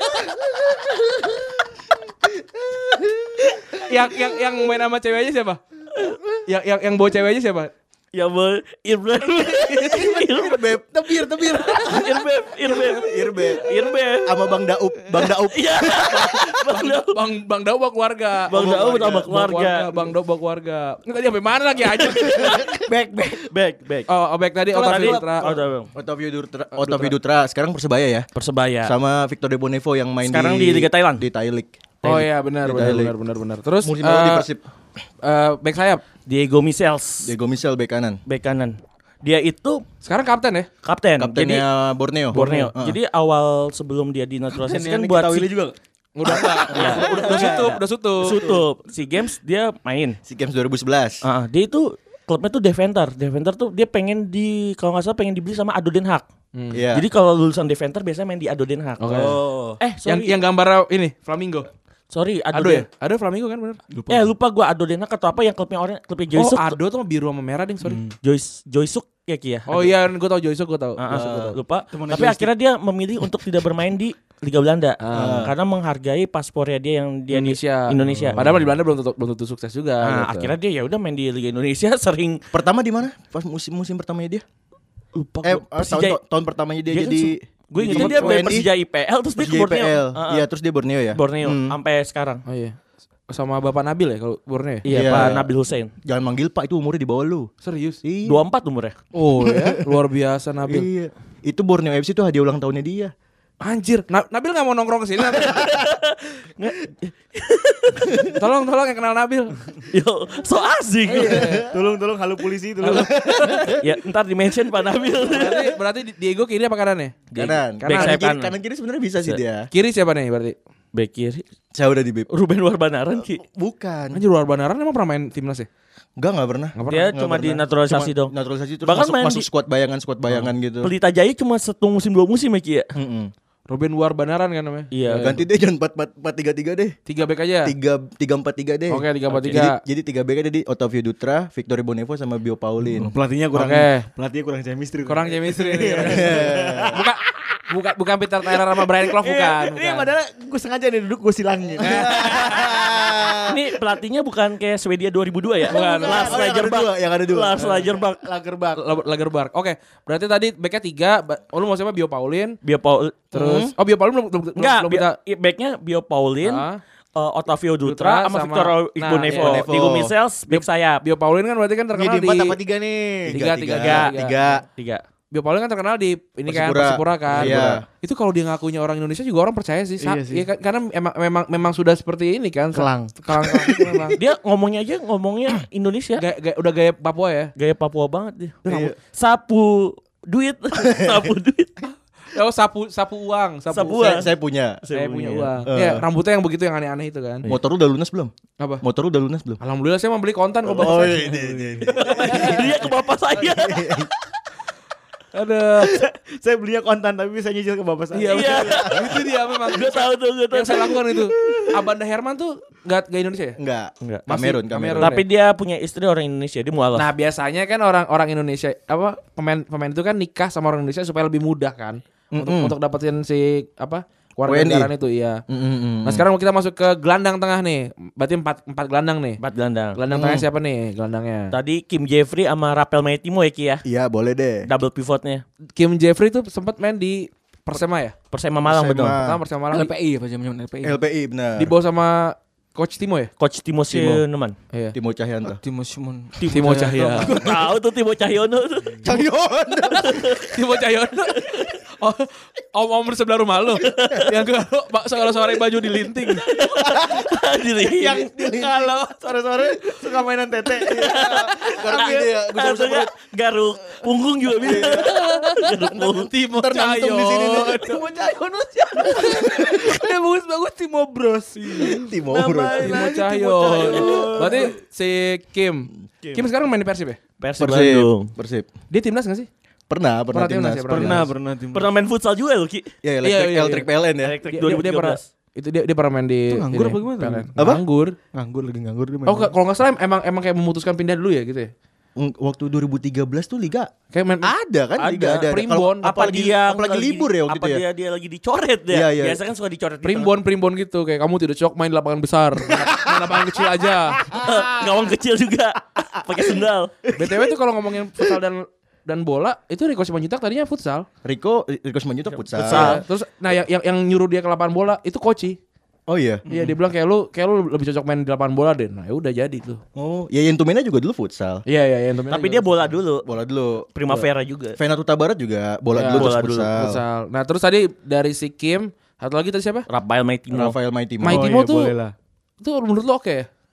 yang yang yang main sama ceweknya siapa? Yang yang yang bawa ceweknya siapa? Yang mau Irbeb. Irbeb, Tebir tebir. Irbeb, Irbeb, Irbeb. Irbeb. Sama Bang Daup, Bang Daup. Iya. Bang Dau. Bang Bang Dau bawa keluarga. Bang Dau sama keluarga. Bang Dau bawa keluarga. Ini tadi sampai mana lagi aja? Back back. Back, back. Oh, oh back tadi Kalau Otavio tadi- Dutra. Oh, udah, Bang. Otavio Dutra, Otavio Dutra sekarang Persebaya ya. Persebaya. Sama Victor De Bonevo yang main Sekarang di Liga Thailand. Di Thai League. Oh iya benar Di benar Thailand. benar benar benar. Terus Musim lalu di eh, Persib. eh, back sayap. Diego Michels, Diego Michel bek kanan. bek kanan. Dia itu Sekarang kapten ya? kapten. Jadi Kaptennya Borneo. Borneo. Heeh. Jadi awal sebelum dia dinaturalisasi kan buat si, juga. Udah enggak. Iya. Udah udah sutup, udah sutup. Sutup. Si Games dia main. SEA Games dua ribu sebelas. Ah, dia itu klubnya tuh Deventer. Deventer tuh dia pengen di kalau nggak salah pengen dibeli sama Ado Den Haag. Iya. Jadi kalau lulusan Deventer biasanya main di Ado Den Haag. Oke. Oh. Eh, Yang sorry. yang gambar ini Flamingo. sorry, Ado, Ado Den. ya? Ado Flamingo kan bener? Lupa. Eh, lupa gua Ado Den Haag atau apa yang klubnya orang klubnya Oh, Joysuk. Ado tuh biru sama merah ding, sorry. Joyce Joysuk ya Ki ya. Oh iya, gue tau Joysuk, gue tau. Ah, Joysuk gua ah, tau. lupa. Temennya Tapi Joyce. akhirnya dia memilih untuk tidak bermain di Liga Belanda Ah. karena menghargai paspornya dia yang dia di Indonesia. Indonesia. Padahal di Belanda belum tentu, belum tentu sukses juga. Nah, gitu. akhirnya dia ya udah main di Liga Indonesia sering Pertama di mana? Pas musim musim pertamanya dia? lupa Eh, gua. tahun, Persija. tahun pertamanya dia, Dia kan jadi Gue jadi ingetnya dia W main N I, Persija I P L terus dia ke Persija Borneo. I P L. Ah, ah. Iya, terus dia Borneo ya. Borneo Hmm. sampai sekarang. Oh iya. Sama Bapak Nabil ya kalau Borneo ya? Iya, Iya. Pak Nabil Hussein. Jangan manggil Pak, itu umurnya di bawah lu. Serius? Iya. dua puluh empat umurnya. Oh ya, luar biasa Nabil. Iya. Itu Borneo F C itu hadiah ulang tahunnya dia. Anjir, Na- Nabil gak mau nongkrong kesini Nabil. Tolong, tolong yang kenal Nabil. Yo, so asik. Tolong tolong halo polisi tolong. Ya, ntar di mention Pak Nabil. Berarti, berarti Diego kiri apa kanan ya? Kanan. Back Kanan, sayap kiri, kanan. kanan kiri sebenarnya bisa sih dia. Kiri siapa nih berarti? Back kiri Saya udah di bib. Ruben Warbanaran Ki. Bukan. Anjir, luar Banaran emang pernah main timnas ya? Enggak, enggak pernah. Nggak Dia Nggak cuma pernah. dinaturalisasi Cuma dong. Naturalisasi terus Bahkan masuk, main masuk di- squad bayangan squad bayangan gitu. Pelita Jaya cuma satu musim dua musim ya Ki ya. Mm-mm. Ruben Luar Banaran kan namanya? Iya. Ganti deh jangan empat empat tiga tiga deh. Tiga back aja. Tiga tiga empat tiga deh. Oke, tiga empat tiga. Jadi, jadi tiga back jadi Otavio Dutra, Victory Bonevo sama Bio Paulin. Pelatihnya kurang Oke. pelatihnya kurang chemistry. Kurang chemistry nih. bukan bukan bukan Peter Tyler sama Brian Clough bukan. Ini bukan. padahal gue sengaja nih duduk gue silangin. Ini pelatihnya bukan kayak Swedia dua ribu dua ya? Bukan. Lars Oh, yang ada Lagerbäck. dua, yang ada dua. Lars Lagerbäck. Lagerbak. Lager- Lagerberg. Oke, berarti tadi backnya tiga. ba- Oh, lu mau siapa? Bio Paulin. Bio Paul Terus, oh Bio Paulin belum belum enggak, belum kita. Bio- backnya Bio Paulin, Ah. eh, Otavio Dutra Dutra, sama sama- Victor nah, Igbonevo, Igbonevo. Diego Michels, back sayap. Bio Paulin kan berarti kan Ini terkenal di di, empat apa tiga nih? Tiga, tiga, tiga, tiga. Tiga. Bio Paulin kan terkenal di ini kan Persipura. Persipura kan. Iya. Itu kalau dia ngakunya orang Indonesia juga orang percaya sih. Sa- Iya sih. ya kan- karena emang memang memang sudah seperti ini kan. Kelang. Kelang, kelang itu memang. Dia ngomongnya aja ngomongnya Indonesia. Gaya, gaya, udah gaya Papua ya. Gaya Papua banget dia. Iya. Sapu duit, sapu duit. Oh sapu sapu uang, sapu, Sapu Saya, uang. saya punya. Saya punya punya. uang. Eh. Ya, rambutnya yang begitu yang aneh-aneh itu kan. Motor lu udah lunas belum? Apa? Motor lu udah lunas belum? Alhamdulillah saya mau beli konten kok. Oh, Bang. ini, ini, ini. Dia ke bapak saya. Ada. Saya belinya kontan tapi saya nyicil ke bapak saya. Iya, Iya. betul. Itu dia memang. Gue tahu tuh, gue tahu. Yang saya lakukan itu. Abanda Herman tuh nggak nggak Indonesia ya? Enggak. Enggak. Kamerun, Masih Kamerun. Kamerun. Tapi dia punya istri orang Indonesia, dia mualaf. Nah biasanya kan orang-orang Indonesia apa pemain pemain itu kan nikah sama orang Indonesia supaya lebih mudah kan untuk Mm-mm. untuk dapetin si apa warga W N I. negaraan itu iya. Mm, mm, mm. Nah sekarang kita masuk ke gelandang tengah nih. Berarti empat empat gelandang nih. Empat gelandang. Gelandang tengah siapa nih gelandangnya? Tadi Kim Jeffrey sama Rapel Maitimo ya Ki ya. Iya, boleh deh. Double pivotnya. Kim Jeffrey tuh sempat main di Persema ya? Persema Malang Persema. betul. Pertama Persema Malang L P I apa zaman L P I? L P I benar. di bawah sama Coach Timo ya? Coach Timo Sinuman. Iya. Timo Cahyanto. Timo Simon. Timo Cahya. Gue tahu tuh Timo Cahyono tuh. Cahyono. Timo Cahyono. Oh, om-om sebelah rumah lo. Yang kalau kalau sore baju dilinting. yang Kalau sore-sore suka mainan tete. Garuk gitu ya, gue Harusnya perut. garuk punggung juga bisa. Garuk punggung. Timo Ntar nangtung di sini nih. Timo Cahyono siapa? Dia bagus-bagus Timo Bros. Timo Nama bro. Timo lagi Cahyo. Cahyo. Berarti si Kim. Kim sekarang main di Persib ya? Persib Persib. Bandung. Persib. Dia timnas gak sih? Pernah, pernah Pernah timnas timnas. ya, Pernah pernah Timo. Pernah main futsal juga loh Ki. Ya, Iya, elektrik, iya, iya. elektrik P L N ya. Elektrik Dia, dua ribu dia tiga pernah belas. itu dia dia pernah main di Itu nganggur ini, apa gimana? P L N. Apa? Nganggur. Nganggur lagi nganggur dia main. Oh, ka- kalau nggak salah emang emang kayak memutuskan pindah dulu ya gitu ya? Mm, Waktu dua ribu tiga belas tuh liga Kayak main ada kan? Liga ada. Primbon. Kalau- Apa apalagi, dia apalagi libur ya waktu apa itu ya. dia dia lagi dicoret ya? Iya, iya. Biasa kan suka dicoret di primbon primbon gitu kayak kamu tidak cocok main di lapangan besar, main lapangan kecil aja. tengah. Gawang kecil juga pakai sendal. B T W tuh kalau ngomongin futsal dan dan bola itu Rico Simanjuntak tadinya futsal. Rico, Rico Simanjuntak futsal. Futsal. Terus nah yang, yang yang nyuruh dia ke lapangan bola itu Koci. Oh iya. Iya dia bilang kayak lu kayak lu lebih cocok main di lapangan bola deh. Nah ya udah jadi tuh. Oh, ya Yentumena juga dulu futsal. Iya iya yang Tapi dia bola dulu. Bola dulu. Primavera juga. Venato Barat juga bola Ya, dulu bola terus dulu, futsal. futsal. Nah terus tadi dari si Kim satu lagi tadi siapa? Rafael Maitimo. Rafael Maitimo. Maitimo Oh, iya, tuh boleh lah. itu menurut lu oke ya?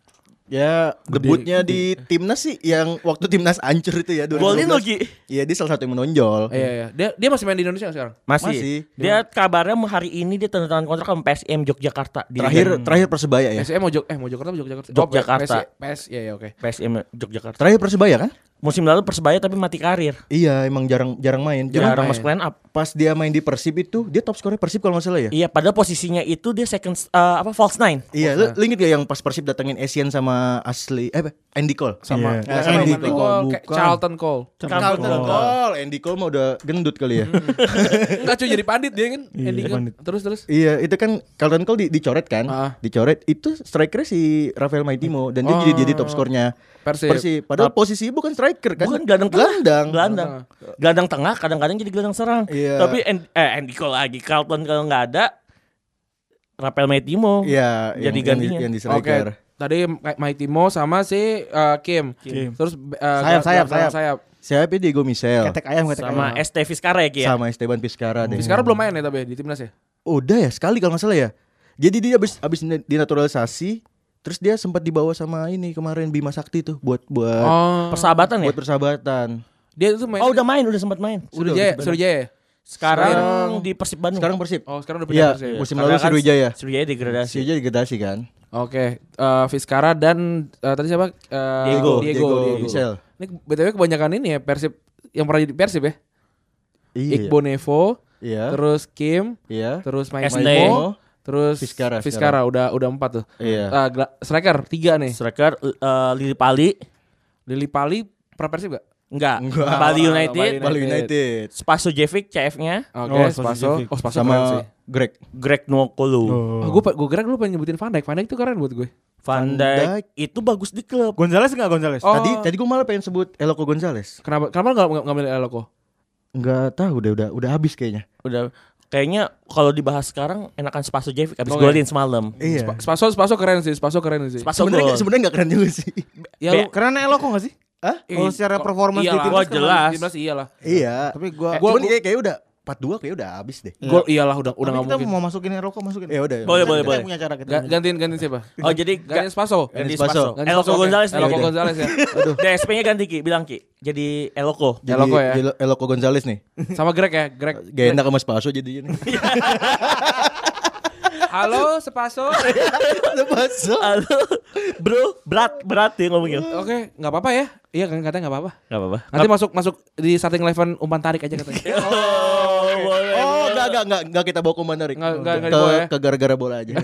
Ya debutnya di timnas sih yang waktu timnas hancur itu ya. Golin dua ribu enam belas. lagi. Iya dia salah satu yang menonjol. Iya iya. Dia dia masih main di Indonesia nggak sekarang? Masih. Masih. Dia kabarnya hari ini dia tanda tangan kontrak sama P S I M Yogyakarta. Di Terakhir Liga- terakhir Persebaya ya. P S M mau Jog eh mau Jakarta mau Yogyakarta. Yogyakarta. Oh, P S iya iya oke. P S I M Yogyakarta. Terakhir Persebaya kan? Musim lalu Persebaya tapi mati karir. Iya emang jarang jarang main. Cuma Jarang main. masuk line up. pas dia main di Persib itu dia top skornya Persib kalau nggak salah ya. Iya, padahal posisinya itu dia second uh, apa false nine. Iya, lu, lu inget gak yang pas Persib datengin Asian sama Asli eh apa? Andy Cole Sama Iya. nggak Eh, sama Andy Andy Cole, Cole, kayak bukan. Charlton Cole. Carlton Cole, Andy Cole mah udah gendut kali ya. Enggak cuy jadi pandit dia kan. Iya, Andy Cole. pandit. Terus terus. Iya, itu kan Carlton Cole di, dicoret kan? Ah. Dicoret itu strikernya si Rafael Maitimo dan dia Oh. jadi jadi top skornya Persib. Persib. Padahal posisinya bukan striker kan? Bukan gelandang tengah. Gelandang. Gelandang. Gelandang tengah kadang-kadang jadi gelandang serang. Iya. Tapi An- eh, Andy Cole lagi, Carlton kalau nggak ada Rafael Maitimo. Iya, Jadi yang, yang, di, gantinya. yang di Oke. striker. Tadi Maitimo sama si uh, Kim. Kim. Terus uh, Sayap, sayap, sayap. sayap. Siapa Diego Michel Ketek ayam, ketek Sama ayam. S T Vizcarra ya. sama Esteban Vizcarra deh. Sekarang belum main ya tapi di timnas ya. Udah ya sekali kalau nggak salah ya. Jadi dia habis habis dinaturalisasi, terus dia sempat dibawa sama ini kemarin Bima Sakti tuh buat buat Oh. Persahabatan ya? buat persahabatan. Dia itu main. Oh, udah main, udah sempat main. Sriwijaya, Sriwijaya. Sekarang di Persib Bandung. Sekarang Persib. Oh, sekarang udah pindah Iya, Persib. musim Karena lalu kan Sriwijaya. Sriwijaya degradasi. Sriwijaya degradasi kan. Oke, eh Vizcarra dan eh, tadi siapa? Eh, Diego. Diego, Diego. Michel. Ini B T W kebanyakan ini ya Persib yang pernah jadi Persib ya. Iya. Iqbal Nevo, Iya. terus Kim, Iya. terus S T. Maitimo, terus Vizcarra, Vizcarra udah udah empat tuh. Iya. Ah, gela- striker tiga nih. Striker eh, Lili Pali. Lili Pali pernah Persib gak? Enggak. Enggak. Bali United. Bali Bali United Spaso Jevic C F-nya. Oke, Oh, Spaso. Spaso. Oh, Spaso keren sama sih. Greg. Greg Nwokolo. Oh, gue gue kira lu pengen nyebutin Van Dijk. Van Dijk itu keren buat gue. Van Van Dijk itu bagus di klub. Gonzales enggak Gonzales? Oh. Tadi tadi gue malah pengen sebut Eloko Gonzales. Kenapa kenapa enggak enggak milih Eloko? Enggak tahu udah udah udah habis kayaknya. Udah kayaknya kalau dibahas sekarang enakan Spaso Jevic abis Oke. golin semalam. Iya. Spa- Spaso Spaso keren sih, Spaso keren sih. Spaso Sebenarnya gol. nggak- sebenarnya enggak keren juga sih. Ya Be- lu Karena Eloko enggak sih? Hah? Kalau secara performance di iyalah. timnas Wah, kan jelas. Di timnas iyalah. Iya. Tapi gua Gua kayak kayak udah empat dua kayak udah habis deh. Gol iyalah udah udah Tapi enggak kita mungkin. mau masukin Eloko masukin. Ya udah. Boleh, Kita- boleh, kita boleh. punya cara kita. Ga- gantiin gantiin siapa? Oh jadi Gantiin Spaso. ganti Spaso. Spaso. Gantiin Eloko Spaso, oke. Gonzales nih. Eloko Udah. Gonzales ya. D S P-nya ganti Ki, bilang Ki. Jadi Eloko. Jadi Eloko ya? Elo- Eloko Gonzales nih. Sama Greg ya, Greg. Gak enak sama Spaso jadinya nih. Halo, Spaso. Spaso. Halo, bro, berat, berat ya ngomongnya. Oke, enggak apa-apa ya. Iya kan katanya enggak apa-apa. Gak apa-apa. Nanti masuk masuk di starting eleven umpan tarik aja katanya. Oh, boleh. Oh, enggak enggak enggak enggak kita bawa komando Rik. Enggak, enggak, enggak Ke, dibawa ya? ke gara-gara bola aja.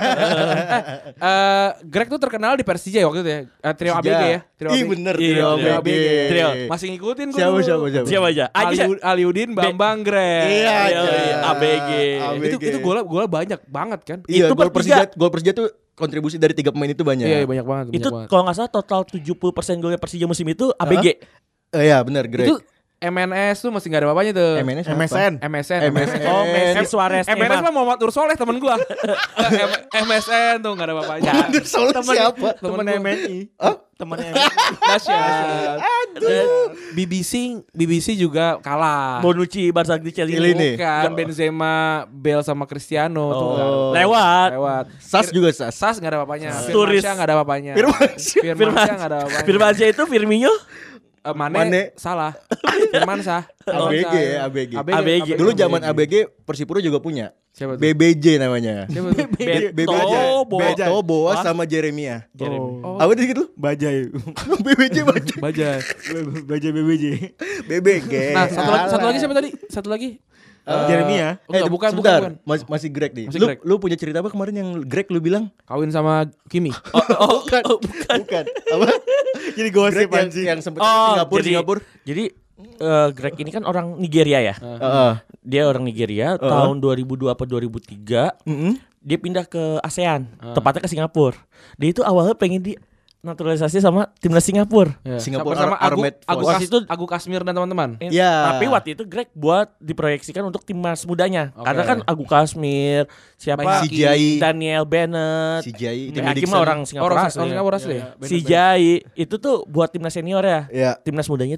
Eh, Greg tuh terkenal di Persija waktu itu ya. Eh, trio A B G ya. Trio Ih A B G. bener Iya, trio trio A B G. Trio. Masih ngikutin gua Siapa dulu. siapa siapa? Siapa aja? Aja. Ali- Aliudin, Bambang, Greg. Iya, Iya, iya. iya, A B G. A B G. Itu itu gol gol banyak banget kan? Iya, Itu gol bertiga. Persija, gol Persija tuh kontribusi dari tiga pemain itu banyak. Iya, iya, banyak banget, banyak Itu banget. kalau nggak salah total tujuh puluh persen golnya Persija musim itu A B G. Eh, iya, benar, Greg. Itu M N S tuh masih gak ada bapaknya tuh. M N S M S N. M S N. M S N. Oh, Messi Suarez. M N S Neymar. mah Muhammad Nur Soleh temen gua. M- MSN tuh gak ada bapaknya. Soalnya siapa? Temen Temen gua. M N I. Temen M N I. Dahsyat. Dan B B C B B C juga kalah. Bonucci, Barca di Ini nih. Bukan Benzema, Bale sama Cristiano tuh Oh, nggak ada. lewat. Lewat. Sas juga Sas. Sas gak ada bapaknya. Turis. Firmansyah gak ada bapaknya. Firmansyah. Firmansyah gak ada bapaknya. Firmansyah itu Firmino. Eh, Mane, Mane. salah. Firmansyah. A B G Firmansyah. ya, A B G. A B G. Dulu zaman A B G Persipura juga punya. Siapa tuh? B B J namanya. Siapa tuh? B- Beto, B B J. Boas. Beto, Boas sama Jeremia. Oh. Apa tadi gitu? Bajai. B B J Bajaj. Bajaj. Bajai B B J. B B G. Nah, satu lagi, satu lagi siapa tadi? Satu lagi. Jeremia. Oh, enggak, bukan, bukan, sebentar. bukan. Mas, masih Greg nih. Masih lu, Greg. lu punya cerita apa kemarin yang Greg lu bilang? Kawin sama Kimi. Oh, bukan. oh, bukan. Bukan. Apa? Jadi Greg gosip yang, anjing. yang sempet Oh, Singapura, jadi, Singapura. Jadi eh, Greg ini kan orang Nigeria ya. Heeh. Dia orang Nigeria. Tahun dua ribu dua apa dua ribu tiga Heeh. dia pindah ke ASEAN, tepatnya ke Singapura. Dia itu awalnya pengen di naturalisasi sama timnas Singapura. Ya. Singapura Bersama Ar- Agu, Armed Agu, Force. Kas, Itu- Agu Kasmir dan teman-teman. Eh, Ya. Tapi waktu itu Greg buat diproyeksikan untuk timnas mudanya. Oke. Karena kan Agu Kasmir, siapa? Si Jai. Daniel Bennett. Si Jai, Tim Timmy Hakim Dixon. mah orang Oh, Singapura. orang asli. Singapura asli ya? Si Jai itu tuh buat timnas senior ya. Ya. Timnas mudanya tuh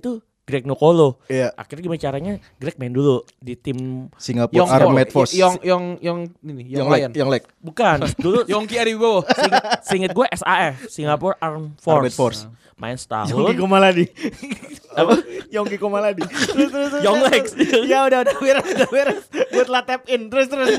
Greg Nokolo. Iya. Akhirnya gimana caranya? Greg main dulu di tim Singapore Armed Force. Yong Yong Yong ini Yong yang leg, Lion. yang leg. bukan dulu Yongki Ariwibowo. Seinget, seinget gue S A F Singapore Armed Force. Armed Force. Main Yongki setahun. Komaladi. Apa? Yongki Komaladi. Terus terus. terus, Young terus. Legs. Ya udah udah beres udah beres. Gue telah tap in. Terus terus.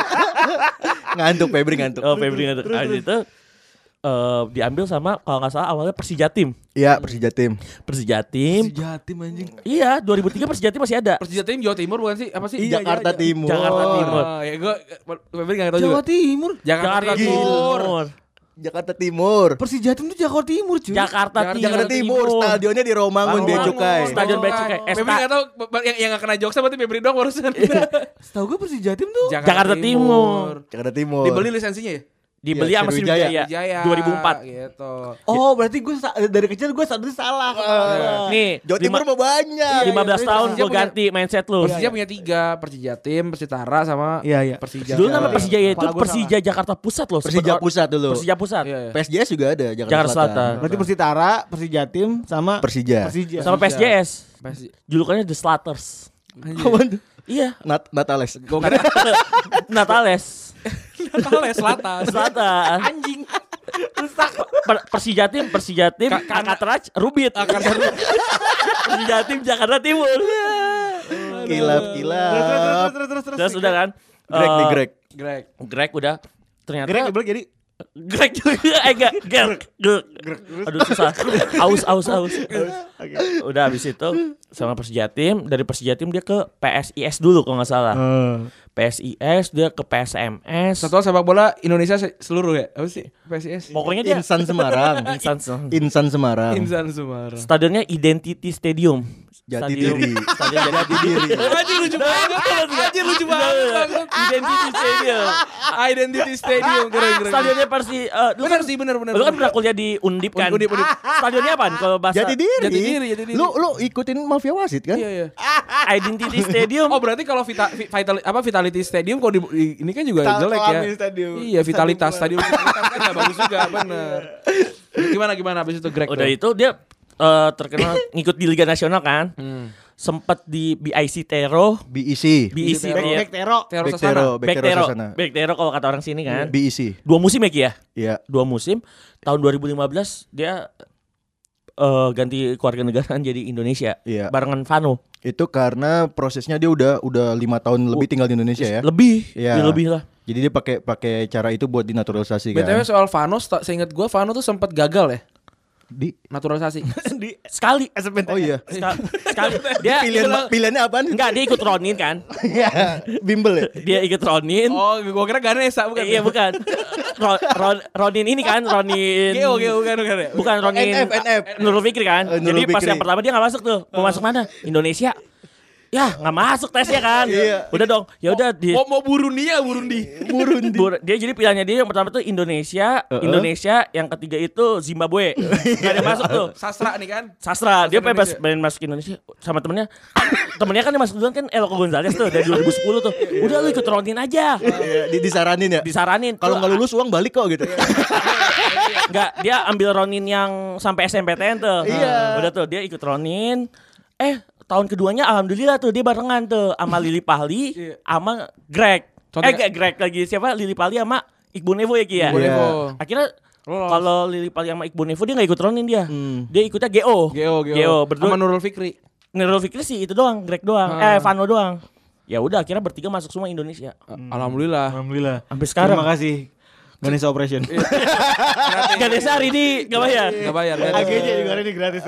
Ngantuk Febri ngantuk. Oh, Febri nggak tahu. Habis itu eh, diambil sama kalau nggak salah awalnya Persija Tim. Iya, Persija tim. Persija Tim. Jatim anjing. Iya, dua ribu tiga Persija Tim masih ada. Persija Tim Jawa Timur bukan sih? Apa sih? Iya, Jakarta Timur. Jakarta Timur. Oh, ya gua Febri enggak tahu juga. Jawa Timur. Jakarta, Jakarta Timur. Timur. Jakarta Timur. Persijatim tuh Jakarta Timur cuy. Jakarta Timur. Jakarta Timur. Stadionnya di Romangun Bea Romangun. Cukai. Stadion Bea Cukai. Febri enggak tahu yang yang enggak kena jokes berarti Febri doang barusan. Setahu gue Persijatim tuh. Jakarta Timur. Jakarta Timur. Dibeli lisensinya ya? Dibeli Iya, sama Sriwijaya. Sriwijaya Jaya. dua ribu empat. Gitu. Oh berarti gue sa- dari kecil gue sadar salah. Nih, Jawa Timur lima- mau banyak. lima belas tahun Persija gue punya- ganti mindset lu. Persija punya tiga, Persija Tim, Persitara sama Iya iya. Persija. Dulu nama Iya. Persija itu Kepala gua Persija Jakarta Pusat loh. Persija Sempet- Pusat dulu. Persija Pusat. Iya, iya. P S J S juga ada Jakarta, Jakarta Selatan. Berarti Persitara, Persijatim sama Persija. Persija. Sama P S J S. Persija. Julukannya The Slatters. Apaan tuh? Iya, Nat Natales. Natales. Natales Selatan. Selatan. Anjing. Per- Persija Tim, Persija Tim, Ka- karena- Akatrach, Rubit. Persija Tim Jakarta Timur. Kilap kilap. Terus terus terus terus. Terus udah kan. Greg nih eh, Greg. Greg. Greg udah ternyata Greg Greg jadi Greg juga eh enggak Greg Greg aduh susah aus aus aus udah habis itu sama Persija Tim, dari Persija Tim dia ke P S I S dulu kalau nggak salah. P S I S dia ke P S M S. Satuan sepak bola Indonesia se- seluruh ya? Apa sih? P S I S. Pokoknya dia Insan Semarang. Insan Insan Semarang. Insan Semarang. stadionnya Identity Stadium. Jati Stadium- diri. Stadion Jati Diri. Anjir lucu banget. Anjir lucu banget. Identity Stadium. Identity Stadium keren keren. Stadionnya Persi eh, lu Bener kan sih bener bener. lu kan pernah kuliah di Undip kan? Undip, Undip. Stadionnya apaan kalau bahasa Jati diri. Jati diri, jati diri. Lu lu ikutin mafia wasit kan? Iya iya. Identity Stadium? Oh berarti kalau vita, vi- vital, apa Vitality Stadium kalau di, di- ini kan juga jelek ya. Alami Stadium. Iya Vitalitas Stadium Vitalitas kan nggak bagus juga bener. Gimana gimana abis itu Greg? Udah tuh? itu dia eh, terkenal ngikut di Liga Nasional kan. Hmm. Sempet di B I C Tero, B E C. B I C Back dia- back Tero. Tero Back Sasana. Tero, Back Back Tero Tero, Sasana. Back Tero kalau kata orang sini kan. B E C. Dua musim ya Ki ya? Iya. Dua musim. Tahun dua ribu lima belas dia eh, ganti kewarganegaraan jadi Indonesia. Iya. Barengan Vano. Itu karena prosesnya dia udah udah lima tahun lebih tinggal di Indonesia ya. Lebih, Iya. dia lebih lah. Jadi dia pakai pakai cara itu buat dinaturalisasi B T W kan. soal Vano, sta- seingat gue Vano tuh sempat gagal ya Di naturalisasi. Di Sekali. Oh iya. Ska- Sekali. Dia Pilihan pilihannya apaan? enggak, dia ikut Ronin kan. Iya. Bimbel ya. Dia ikut Ronin. Oh, gue kira Ganesa bukan? Iya bukan. Ro, Ron- Ronin ini kan Ronin. Geo Geo bukan bukan ya? Bukan Ronin. N F, N F. Nurul Fikri kan. Eh, Nurul Jadi pas Fikri. yang pertama dia nggak masuk tuh. Mau masuk mana? Indonesia. Ya nggak masuk tesnya kan. Iya. Udah dong. Ya udah di. Mau mau Burundi ya Burundi. Burundi. Bur- dia jadi pilihannya dia yang pertama tuh Indonesia, Uh-uh. Indonesia, yang ketiga itu Zimbabwe. Gak ada yang masuk tuh. Sastra nih kan. Sastra, dia Masuk bebas Indonesia. pengen masuk Indonesia sama temennya. Temennya kan yang masuk duluan kan Eloko Gonzalez tuh dari dua ribu sepuluh tuh. Udah lu ikut Ronin aja. Iya, di disaranin ya. Disaranin. Kalau Tuh, nggak lulus uang balik kok gitu. Enggak, dia ambil Ronin yang sampai S M P T N tuh. Iya. Udah tuh dia ikut Ronin. Eh, tahun keduanya alhamdulillah tuh dia barengan tuh sama Lili Pahli Iya. sama Greg. Contohnya- Eh, enggak Greg lagi siapa? Lili Pahli sama Iqbal Nevo ya Ki ya? Iqbal Iya. Nevo. Akhirnya Lolos. kalau Lili Pahli sama Iqbal Nevo dia enggak ikut Ronin dia. Hmm. Dia ikutnya G O. Geo Geo. Geo berdua. Sama Nurul Fikri. Nurul Fikri sih itu doang, Greg doang. Ah. Eh, Vano doang. Ya udah akhirnya bertiga masuk semua Indonesia. Alhamdulillah. Alhamdulillah. Sampai sekarang. Terima kasih. Ganesha Operation. Ganesha hari ini enggak bayar. Enggak bayar. nggak A G bayar. J juga hari ini gratis.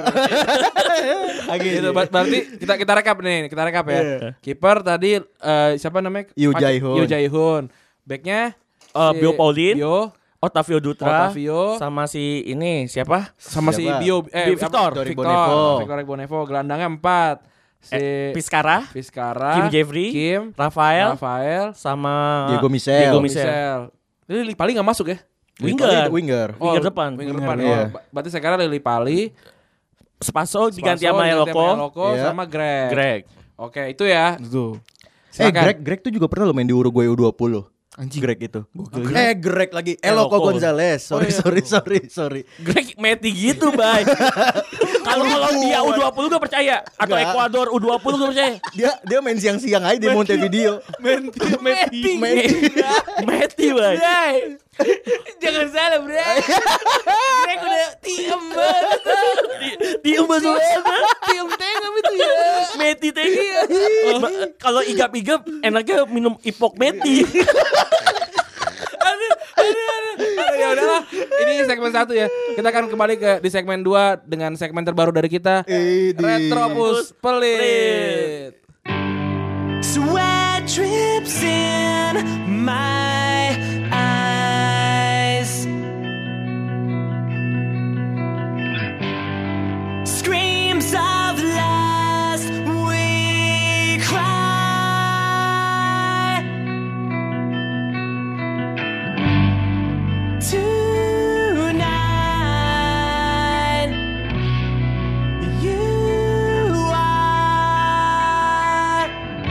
A G J. Gitu, ber- berarti kita kita rekap nih, kita rekap ya. Kiper tadi eh, siapa namanya? Yu Pak- Jae-hoon. Yu Jae-hoon. Backnya Eh, si Bio Paulin, Bio, Otavio Dutra, Otavio, sama si ini siapa? sama si Siapa? Bio eh Bi- Victor. apa? Victor Victor Bonevo. Victor Bonevo. Gelandangnya empat. Si Eh, Piskara, Vizcara, Kim Jeffrey, Kim, Rafael, Rafael, sama Diego Michel. Diego Michel. Michel. Jadi Lili Pali nggak masuk ya? Winger. Winger. Winger depan. Winger Winger, depan. iya. Oh, ba- berarti sekarang Lili Pali, Spaso diganti Spaso sama diganti Eloko, Eloko Iya. sama Greg. Greg. Oke, itu ya. Tuh. Eh Silakan. Greg Greg tuh juga pernah lo main di Uruguay U dua puluh. Anjing Greg itu. Eh Greg lagi. Eloko Eloko. Gonzalez. Sorry sorry sorry sorry. Greg meti gitu, Bay. Kalau kalau dia U dua puluh gue percaya atau Enggak. Ekuador U dua puluh gue percaya. Dia dia main siang-siang aja di Montevideo. Meti, Meti, Meti, Bang. Jangan salah, Bre. Greg udah tiem banget. Diem banget. Tiem tengah itu ya. Meti teh. Ba- Kalau igap-igap enaknya minum ipok Meti. Ya udahlah, ini segmen satu ya. Kita akan kembali ke di segmen dua dengan segmen terbaru dari kita, Idi. Retropus Pelit. Sweat drips in my eyes. Screams of last we cry. Tonight you are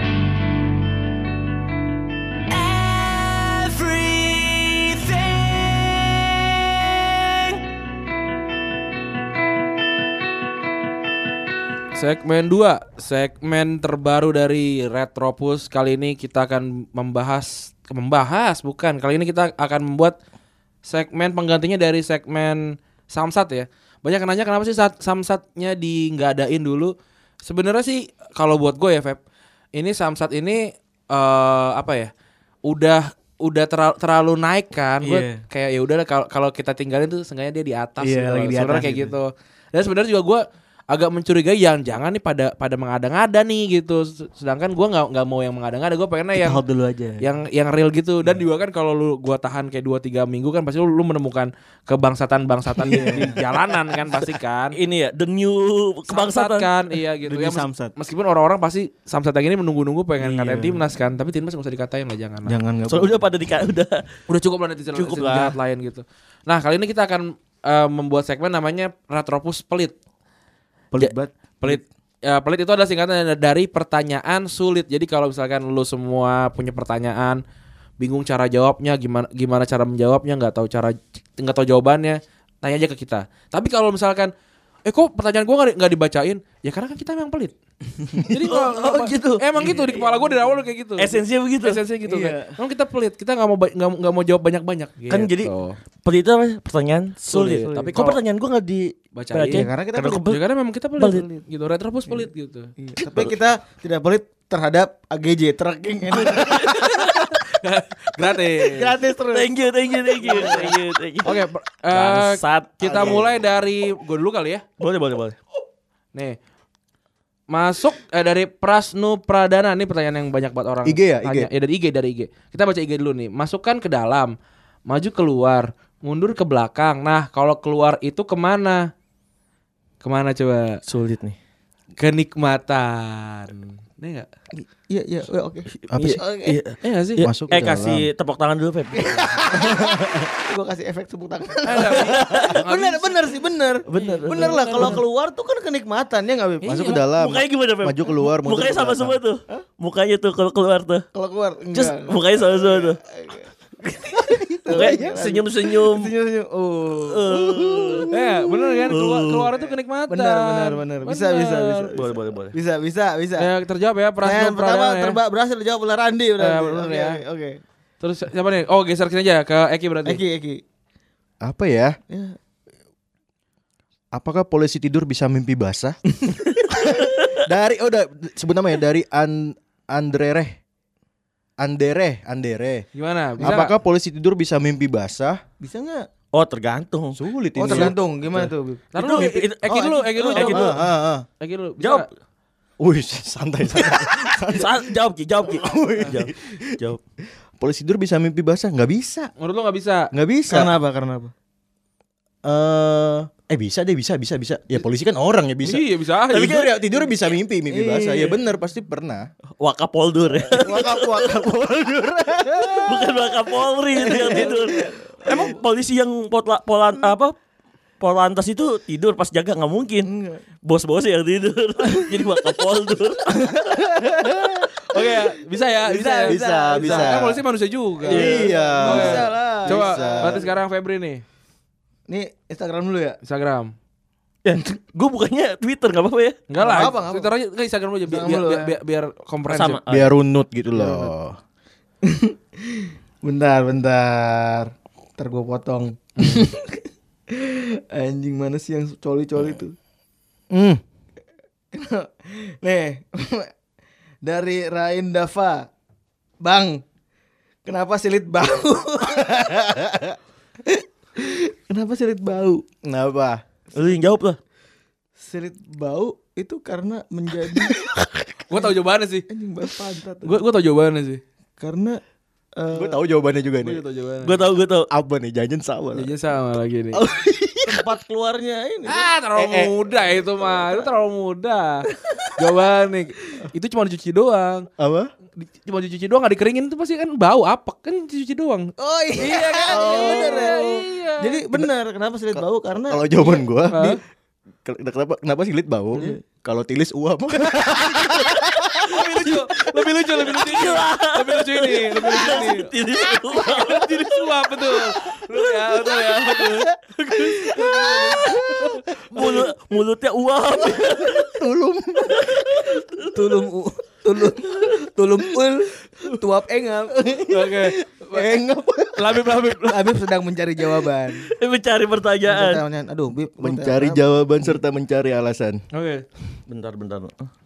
everything. Segmen dua, segmen terbaru dari Retropus. Kali ini kita akan membahas membahas bukan. Kali ini kita akan membuat segmen penggantinya dari segmen Samsat ya. Banyak yang nanya kenapa sih saat Samsatnya di nggak adain dulu. Sebenarnya sih kalau buat gue ya Feb, ini Samsat ini eh apa ya? Udah udah terlalu, terlalu naik kan. Gue Iya. kayak ya udah kalau kalau kita tinggalin tuh seenggaknya dia di atas. Iya, gitu. lagi di Sebenarnya atas kayak gitu. gitu. Dan sebenarnya juga gue agak mencurigai yang jangan nih pada pada mengada-ngada nih gitu. Sedangkan gue nggak nggak mau yang mengada-ngada. Gue pengennya yang Hold dulu aja. yang yang real gitu. Dan juga kan kalau lu gua tahan kayak dua tiga minggu kan pasti lu, lu menemukan kebangsatan-bangsatan di, di jalanan kan pasti kan. Ini ya the new Samsat kebangsaan. kan iya gitu Dunia ya. mes- Samsat. Meskipun orang-orang pasti Samsat yang ini menunggu-nunggu pengen Iya. ngatain timnas kan, tapi timnas nggak usah dikatain lah, jangan lah. Jangan enggak. So udah pada di udah Udah cukup lah netizen Cukup netizen lah. jahat lain gitu. Nah, kali ini kita akan eh, membuat segmen namanya Retropus Pelit. pelit Ja- banget. Pelit. Ya, pelit itu adalah singkatan dari pertanyaan sulit. Jadi kalau misalkan lu semua punya pertanyaan, bingung cara jawabnya, gimana gimana cara menjawabnya, nggak tahu cara nggak tahu jawabannya, tanya aja ke kita. Tapi kalau misalkan eh kok pertanyaan gua nggak di- nggak dibacain, ya karena kan kita memang pelit. Jadi kalau- Oh, oh, gitu. Emang gitu di kepala gua dari awal kayak gitu. Esensinya begitu. Esensinya gitu Iya. kan. Emang kita pelit, kita nggak mau ba- nggak nggak mau jawab banyak-banyak. Kan gitu. jadi pelit itu apa? Pertanyaan sulit. Sulit. Tapi Kok kalau- pertanyaan gua enggak di Bacain. bacain? Iya, karena kita Karena pelit. kebel- Ya, karena memang kita pelit, Pelit. gitu. Retropus pelit gitu. Iya, tapi kita tidak pelit terhadap A G J tracking ini. Gratis. Gratis terus. Thank you, thank you, thank you, thank you, thank you. Oke, per- eh, Bangsat. kita Oke. mulai dari gue dulu kali ya. Boleh, boleh, boleh. Nih, masuk eh, dari Prasnu Pradana. Ini pertanyaan yang banyak banget orang I G ya, I G? tanya. Ya dari I G, dari I G. Kita baca I G dulu nih. Masukkan ke dalam, maju keluar, mundur ke belakang. Nah, kalau keluar itu kemana? Kemana coba? Sulit nih. Kenikmatan. Ini enggak? Iya, iya, oh, oke. Apa sih? Iya. Eh enggak sih? Ya, Masuk ke eh dalam. kasih tepuk tangan dulu, Feb. Gua kasih efek tepuk tangan. Eh, enggak bisa. Enggak Bener, bisa. bener sih, bener. Bener, Bener lah, kalau keluar tuh kan kenikmatan ya nggak, Bib? Masuk ke dalam. Mukanya gimana, Feb? Maju keluar, mundur Mukanya ke sama belakang. semua tuh. Mukanya tuh kalau keluar tuh. Kalau keluar Terus enggak. mukanya sama semua tuh. Mukanya senyum-senyum. Senyum-senyum. Oh. Eh, bener kan? Keluar, keluar itu kenikmatan. Bener, bener, bener. Bisa, bisa, bisa. Boleh, boleh, boleh. Bisa, bisa, bisa. Ya, terjawab ya Pertanyaan Prasnu pertama Pradana ya. terba berhasil dijawab oleh Randi berarti. Eh, bener Oke, ya. Oke, oke. Terus siapa nih? Oh, geser sini aja ke Eki berarti. Eki, Eki. Apa ya? Ya. Apakah polisi tidur bisa mimpi basah? Dari oh udah sebut namanya dari An Andrere. Andere, Andere. Gimana? Bisa Apakah polisi tidur bisa mimpi basah? Bisa nggak? Oh, tergantung. Sulit Oh, ini. tergantung. Gimana tuh, Bib? nggak? Ntar dulu, Itu- itu- Eki dulu, Eki dulu, oh, Eki Eki dulu. Ah, ah, ah. Eki dulu. Bisa Jawab. nggak? Wih, santai santai. Sa- jawab Ki, jawab Ki. Jawab. Jawab. Polisi tidur bisa mimpi basah? Nggak bisa. Menurut lo nggak bisa? Nggak bisa. Karena apa? Karena apa? Eh, eh bisa deh, bisa, bisa, bisa. Ya polisi kan orang ya bisa. Iya bisa aja. Tapi tidur ya tidur bisa mimpi, mimpi basah. Iya. Ya benar, pasti pernah. Wakapoldur ya. Wakap wakap poldur. Bukan Wakapolri itu yang tidur. Emang polisi yang potla, polan apa? Polantas itu tidur pas jaga nggak mungkin. Bos-bos yang tidur. Jadi Wakapoldur. Oke, ya. Bisa ya, bisa, ya. Bisa, bisa. Kan polisi manusia juga. Iya. Bisa lah. Coba, Bisa. berarti sekarang Febri nih, Nih Instagram dulu ya. Instagram. Ya, gue bukannya Twitter nggak apa-apa ya. Enggak lah, Nggak apa, nggak Twitter aja, enggak Instagram aja biar Instagram biar, lu biar, ya. biar, biar komprehensif. Sama. Biar runut gitu loh. Bentar, bentar. Ntar gue potong. Anjing mana sih yang coli-coli tuh? Hmm. Nih, dari Rain Dava. Bang, kenapa silit bau? Kenapa silit bau? Kenapa? Lu yang jawab lah. Silit bau itu karena menjadi Gue tau jawabannya sih. anjing bau pantat. Gue gue tau jawabannya sih. Karena eh, Gue tahu jawabannya juga Gue nih. tau jawabannya. Gue tahu, gue tahu. Apa nih? Jangan sama. lah. Jajan sama lagi nih. tempat keluarnya ini. Ah, terlalu Eh, eh. muda itu mah. Itu terlalu muda. Jawaban nih. Itu cuma dicuci doang. Apa? Di- Cuma dicuci doang, gak dikeringin itu pasti kan bau apek kan dicuci doang. Oh iya kan? Oh, Iya bener ya. iya. Jadi benar kenapa silit bau karena Kalau jawaban gua, Hah? di- ke- kenapa kenapa silit bau? Kalau tilis uap. Lebih lucu, lebih lucu, lebih lucu ini. Lebih lucu ini, lebih lucu ini. Jadi suap betul. Betul ya, betul ya, betul. Mulut, mulutnya uap. tulum tulum u- tulum tulum ul tuap engap. Oke. Engap. Labib, labib. Habib sedang mencari jawaban. Mencari pertanyaan. Pertanyaan, aduh, Bib, lu Mencari kenapa? jawaban serta mencari alasan. Oke. Bentar, bentar.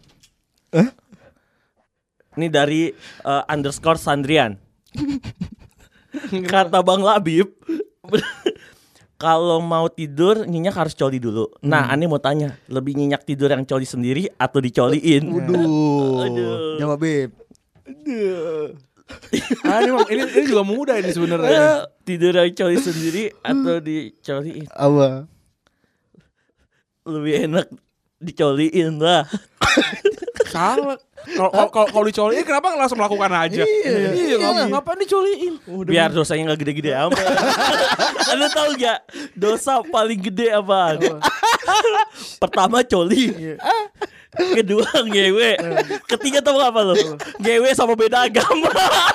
Ini dari eh, underscore Sandrian. Kata Bang Labib, kalau mau tidur nyenyak harus coli dulu. Nah, aneh mau tanya, lebih nyenyak tidur yang coli sendiri atau dicoliin? Waduh. Aduh. Jawab Bib. Ah, ini, ini, ini juga mudah ini sebenarnya. Eh, tidur yang coli sendiri atau dicoliin? Apa? Lebih enak dicoliin lah. Salah. Kalau kalau- kalau kalau dicoliin kenapa nggak langsung melakukan aja? Iya, iya, ngapa- ngapain dicoliin? Biar dosanya nggak gede-gede amat. Anda tahu gak dosa paling gede apaan? Pertama coli, kedua ngewe, ketiga tahu apa lo? Ngewe sama beda agama.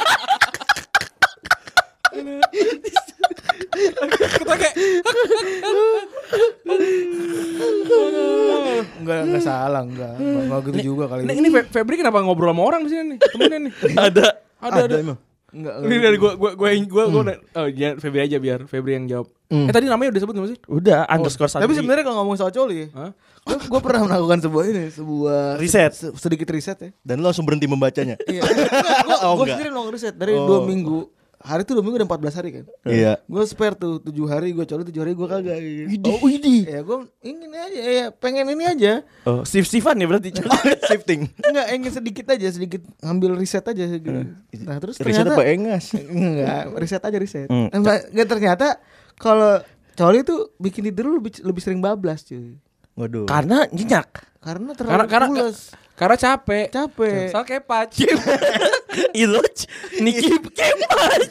Kita kayak Enggak, enggak salah, enggak. Enggak, enggak gitu juga kali. ini, ini Fe- Febri kenapa ngobrol sama orang di sini nih? Temennya nih. Ada. Ada, ada. emang. Enggak. Ini dari gua gua gua gua gua oh ya Febri aja biar Febri yang jawab. Eh tadi namanya udah sebut enggak sih? Udah underscore Tapi Sandri. sebenarnya kalau ngomong soal coli, Hah? gue gue pernah melakukan sebuah ini, sebuah Riset. se- sedikit riset ya. Dan lu langsung berhenti membacanya. Iya. Gue Oh, gue enggak. sendiri melakukan riset dari Oh. dua minggu. Hari itu dua minggu dan empat belas hari kan. Iya. Gue spare tuh tujuh hari gue coli, tujuh hari gue kagak. Gitu. Oh, ini. Ya gue ingin aja, ya pengen ini aja. Oh, sif-sifan ya berarti. Shifting. Enggak, ingin sedikit aja, sedikit ngambil riset aja gitu. Nah terus Riset ternyata apa engas? enggak, riset aja riset. Hmm. Enggak, enggak, ternyata kalau coli tuh bikin tidur lu lebih lebih sering bablas cuy. Waduh. Karena nyenyak. Karena Karena terlalu karena pules. karena capek. Capek. Soal kepac. Iloj, Niki kepac.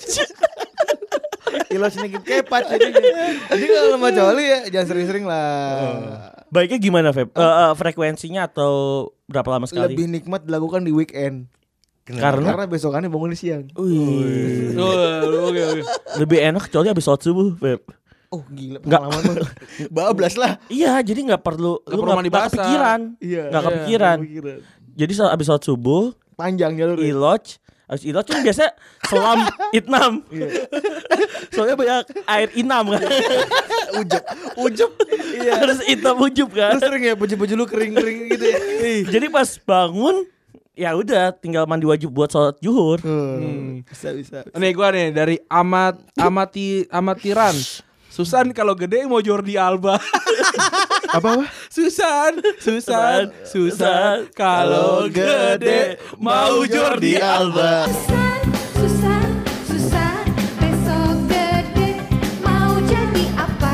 Ilo sedikit kepat jadi. Jadi kalau mau coli ya jangan sering-sering lah. Baiknya gimana, Feb? Eh, eh, frekuensinya atau berapa lama sekali? Lebih nikmat dilakukan di weekend. Karena Karena besokannya bangun di siang. Wih. Oh, oke oke. Lebih enak coli habis sholat subuh, Feb. Oh gila Nggak. pengalaman mah. Bablas lah. Iya, jadi nggak perlu Nggak lu perlu nggak mandi nggak basah. kepikiran. Iya. Nggak kepikiran. Jadi saat habis sholat subuh, Panjang jalur. iloj, habis iloj kan biasa selam itnam. Soalnya banyak air inam kan. Ujub. Ujub. Iya. Harus itam ujub kan. Terus sering ya baju-baju lu kering-kering gitu ya. Jadi pas bangun ya udah tinggal mandi wajib buat sholat zuhur. Hmm. Bisa bisa. Nih gua nih dari amat amati amatiran. Susan kalau gede mau Jordi Alba. Apa apa? Susan, Susan, Susan kalau gede mau Jordi Alba. Susah, susah, besok gede mau jadi apa?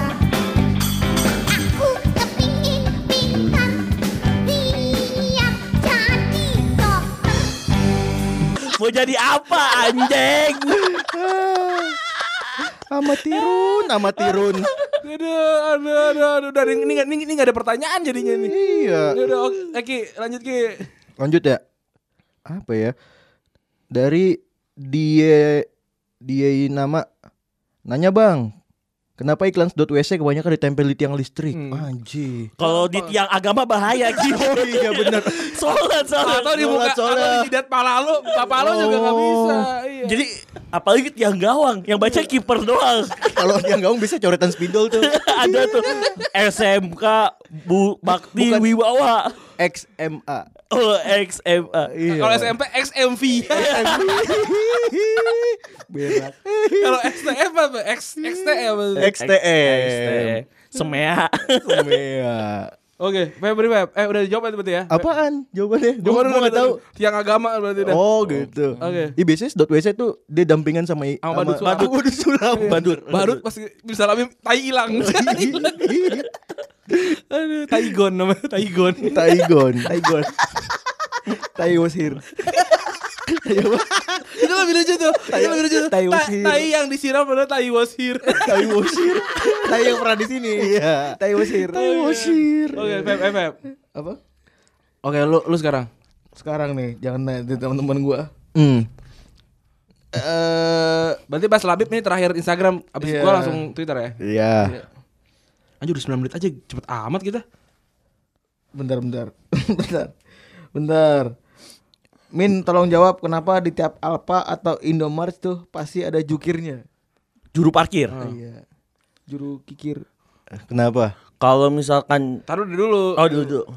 Aku kepingin pintar, biar jadi dokter. Mau jadi apa anjing? Amatirun, amatirun. Aduh, aduh, aduh, aduh. Udah, ini nggak ini, ini nggak ada pertanyaan jadinya nih. Iya. Udah, udah, oke, Ki, lanjut Ki. Lanjut ya. Apa ya? Dari dia dia nama nanya bang, Kenapa iklan sedot W C kebanyakan ditempel di tiang listrik? Anjir. Kalau di tiang agama bahaya gitu. Oh iya benar. Sholat, sholat. Atau di muka, Sholat, sholat. atau di jidat pala lu, pala lu juga nggak bisa. Iya. Jadi apalagi tiang gawang yang baca kiper doang. Kalau tiang gawang bisa coretan spidol tuh. Ada tuh S M K Bu Bakti Bukan. Wibawa. X M A. Oh, X M A. Iya. Kalau S M P X M V. Berak. Kalau S T F apa? X X T apa? X T M. Semea. Semea. Oke, Febri Feb. Eh udah dijawab berarti ya? Apaan jawabannya? Gua Jawaban gua nggak tahu. Tiang agama berarti dah. Oh gitu. Oke. Ih biasanya sedot W C tuh dia dampingan sama i- Sama badut sulam. badut badut sulam. Badut. Badut pasti bisa lebih tai hilang. Aduh, Taigon namanya, Taigon. Taigon. Taigon. Tai was here. Itu lebih lucu tuh. Itu lebih lucu. Tai was Ta- here. Tai yang disiram adalah tai was here. Tai wasir. Tai yang pernah di sini. Iya. Tai was here. Tai wasir. Oke, Feb, eh, Feb. Apa? Oke, lu lu sekarang. Sekarang nih, jangan nanya di teman-teman gua. Hmm. Eh, Berarti pas Labib nih terakhir Instagram, abis Iya. gua langsung Twitter ya. Iya. Anjir udah sembilan menit aja, cepet amat kita. bentar, bentar. bentar. Bentar. Min, tolong jawab kenapa di tiap Alfa atau Indomaret tuh pasti ada jukirnya? Juru parkir. Iya. Juru kikir. Kenapa? Kalau misalkan Taruh dulu. oh dulu dulu.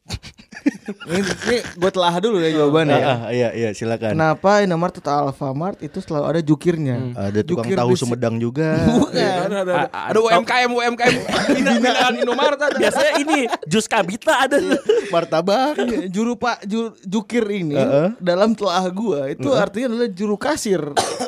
Ini, ini gue telah dulu ya jawabannya. ya. Ah, ah, iya iya silakan. Kenapa Indomaret atau Alfamart itu selalu ada jukirnya? Ada tukang Jukir tahu di- Sumedang juga. Bukan. Ada, ada, ada. Ada U M K M U M K M binaan Indomaret ada. Biasanya ini jus kabita ada. Martabak. Iya, juru pak ju- jukir ini Heeh. dalam telah gua itu artinya adalah juru kasir.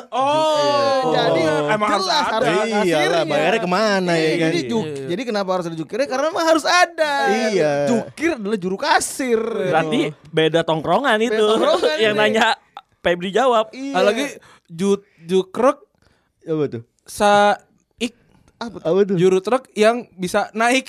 Oh, Jadi emang harus jelas ada. harus ada Iyalah kasirnya. bayarnya kemana ya Iya, kan? jadi juk- jadi kenapa harus ada jukirnya? Karena memang harus ada. Iya. Jukir adalah juru kasir. Berarti beda tongkrongan itu. tongkrongan Yang ini. nanya Febri jawab. Iya. Ada lagi ju jukrek Apa tuh? sa ik Apa tuh? juru truk yang bisa naik.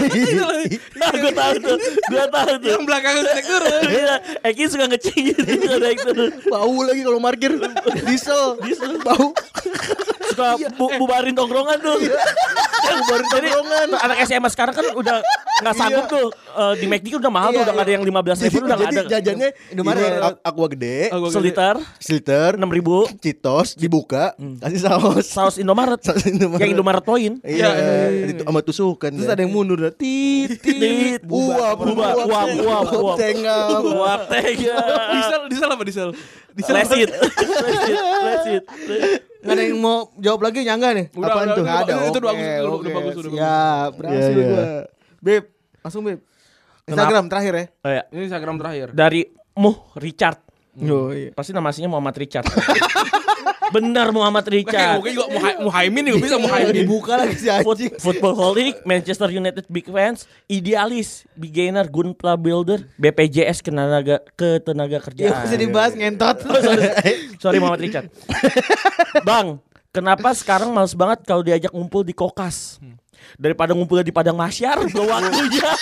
Nah, gue tahu tuh. Gue tahu tuh. Yang belakang naik turun. Iya, Eki suka ngeceng gitu naik turun. Bau lagi kalau parkir. Diesel. Diesel bau. Suka bu- bubarin tongkrongan tuh. bubarin tongkrongan. Anak S M A sekarang kan udah nggak sanggup tuh. Eh, di McD kan udah mahal tuh, Iya, udah nggak ada yang lima belas ribu, udah nggak ada. Jadi jajannya Indomaret. Indomaret ak- aqua gede, Aqua gede. Seliter sliter, enam ribu. Citos dibuka, kasih saus. Saus Indomaret. Saus Indomaret. Yang Indomaret Point. Iya, itu sama tusukan. Terus ada yang mundur dah. Tit Tit, uap, uap, uap, uap, uap. Tengah. Uap tega. Diesel, diesel apa diesel? Diesel. Lesit. Lesit. Lesit. Nggak ada yang mau jawab lagi nyangga nih? Udah, Apaan udah, tuh? udah, Nggak ada. Itu udah bagus, Oke, itu udah oke, bagus, udah bagus. siap, berhasil Iya, iya. gua. Beb, langsung Beb. Instagram terakhir ya. Oh, ya. Ini Instagram terakhir. Dari Muh Richard. Oh iya. Pasti nama aslinya Muhammad Richard. Benar Muhammad Kayak Richard. mungkin juga Muha- Muhaimin juga bisa Muhaimin. Dibuka lagi si Foot, anjing. football holic, Manchester United big fans, idealis, beginner, gunpla builder, B P J S ketenaga ketenaga Ya kerjaan. bisa dibahas ngentot. Sorry Muhammad Richard. Bang, kenapa sekarang males banget kalau diajak ngumpul di kokas? Daripada ngumpulnya di padang masyar, gak waktunya.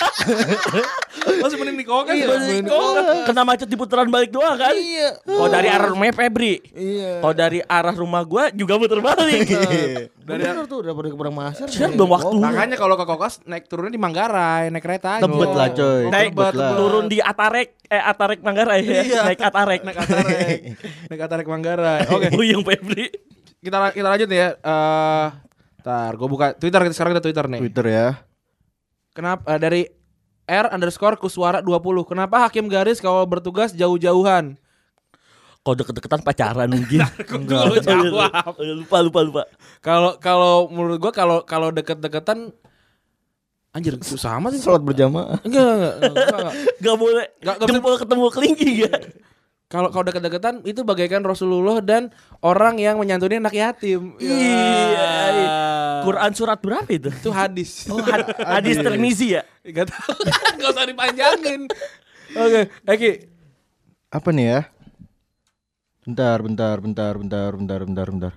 Masih mending di kokas. Iya, ya? mending di Oh, kena macet di putaran balik doang kan? Iya. Kalau dari arah rumahnya Febri, Iya. kalau dari arah rumah gua juga putar balik. Dari tuh daripada ke Padang Masyar. Siapa belum waktu? Makanya kalau ke kokas naik turunnya di Manggarai, naik kereta aja. Tebet lah coy. Naik Tebet lah. turun di Atarek, eh Atarek Manggarai ya. Iya. Naik Atarek. Naik Atarek. Naik Atarek Manggarai. Oke. Buyung Febri. Kita kita lanjut nih ya. Eh, Ntar gue buka Twitter, sekarang kita Twitter nih. Twitter ya. Kenapa eh, dari R underscore Kuswara dua puluh. Kenapa hakim garis kalau bertugas jauh-jauhan? Kalau deket-deketan pacaran mungkin. Enggak. Lu jawab. Lupa lupa lupa. Kalau kalau menurut gua kalau kalau deket-deketan anjir susah amat sih. Sholat berjamaah. Enggak, enggak, enggak, enggak. Gak boleh. Nggak- nggak bisa- Jempol ketemu kelingking ya. Kalau kalau deket-deketan itu bagaikan Rasulullah dan orang yang menyantuni anak yatim. Iya. Ya. Quran surat berapa itu? Itu hadis. Oh, had- hadis Tirmizi ya. Enggak tahu. Enggak usah dipanjangin. Oke, Eki. Apa nih ya? Bentar, bentar, bentar, bentar, bentar, bentar, bentar.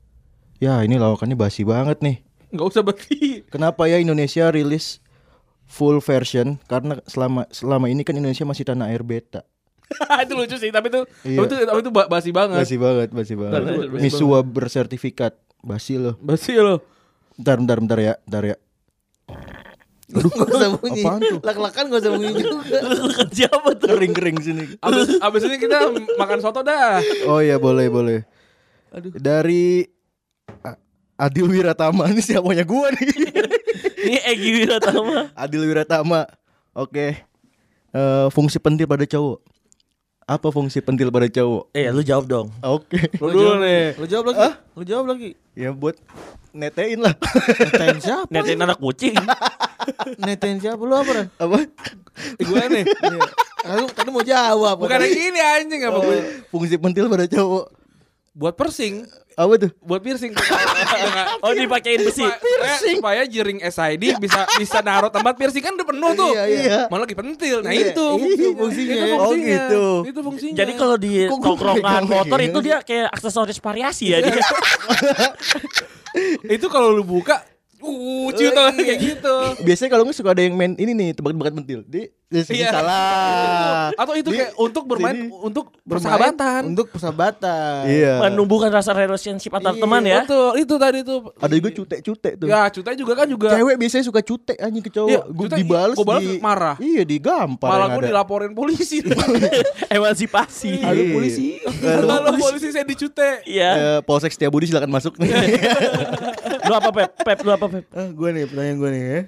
Ya ini lawakannya basi banget nih. Enggak usah berarti. Kenapa ya Indonesia rilis full version? Karena selama selama ini kan Indonesia masih tanah air beta. Itu lucu sih, tapi itu Iya. tapi itu tapi itu ba- basi banget. Basi banget, basi banget. Basi banget. Misua bersertifikat, basi loh. Basi loh. Bentar, bentar, bentar ya, bentar ya. Aduh, gak usah bunyi. Apaan tuh? Lak-lakan gak usah bunyi juga. Siapa tuh? Kering-kering sini. Abis, abis ini kita makan soto dah. Oh iya, boleh, boleh. Aduh. Dari A- Adil Wiratama, ini siapanya gua nih. Ini Egy Wiratama. Adil Wiratama. Oke. Eh, fungsi pentil pada cowok. Apa fungsi pentil pada cowok? Eh, lu jawab dong. Oke. Lu dulu nih. Lu jawab lagi. Lu jawab lagi. Ya buat netein lah. Netain siapa? Netain anak kucing. Netain siapa lu apa? Ran? Apa? Gue nih. Iya. Tadi tadi mau jawab. Bukan yang ini anjing apa gue. Fungsi pentil pada cowok. Buat piercing. Apa tuh? Buat piercing. Oh, dipakein besi. Supaya, supaya jering S I D bisa bisa naruh tempat piercing kan udah penuh tuh. Iya, iya. Malah lagi pentil. Nah Iya, itu itu fungsinya. Itu Oh, fungsinya. gitu. Itu fungsinya. Jadi kalau di Kok gua tongkrongan pegang motor begini? itu dia kayak aksesoris variasi ya dia. itu kalau lu buka uh ciut Oh, iya. kayak gitu. Biasanya kalau nggak suka ada yang main ini nih tebak-tebakan pentil. Di, di sini Iya. salah. Atau itu Di kayak untuk bermain sini. untuk Bermain persahabatan. Untuk persahabatan. Iya. Menumbuhkan rasa relationship antar Iya, teman ya. Betul, itu tadi tuh. Ada juga cute-cute tuh. Ya, cutai juga kan juga. Cewek biasanya suka cute anjing ke cowok. Iya, Gue cute, dibales, gua balas di, marah. Iya, digampar Malah yang gue ada. dilaporin polisi. Emansipasi. Iya. Halo polisi. Halo, Halo polisi saya dicute. Iya. Eh, Polsek Setiabudi silakan masuk nih. Lu apa Pep? Pep lu apa Pep? Ah, gue nih pertanyaan gue nih ya.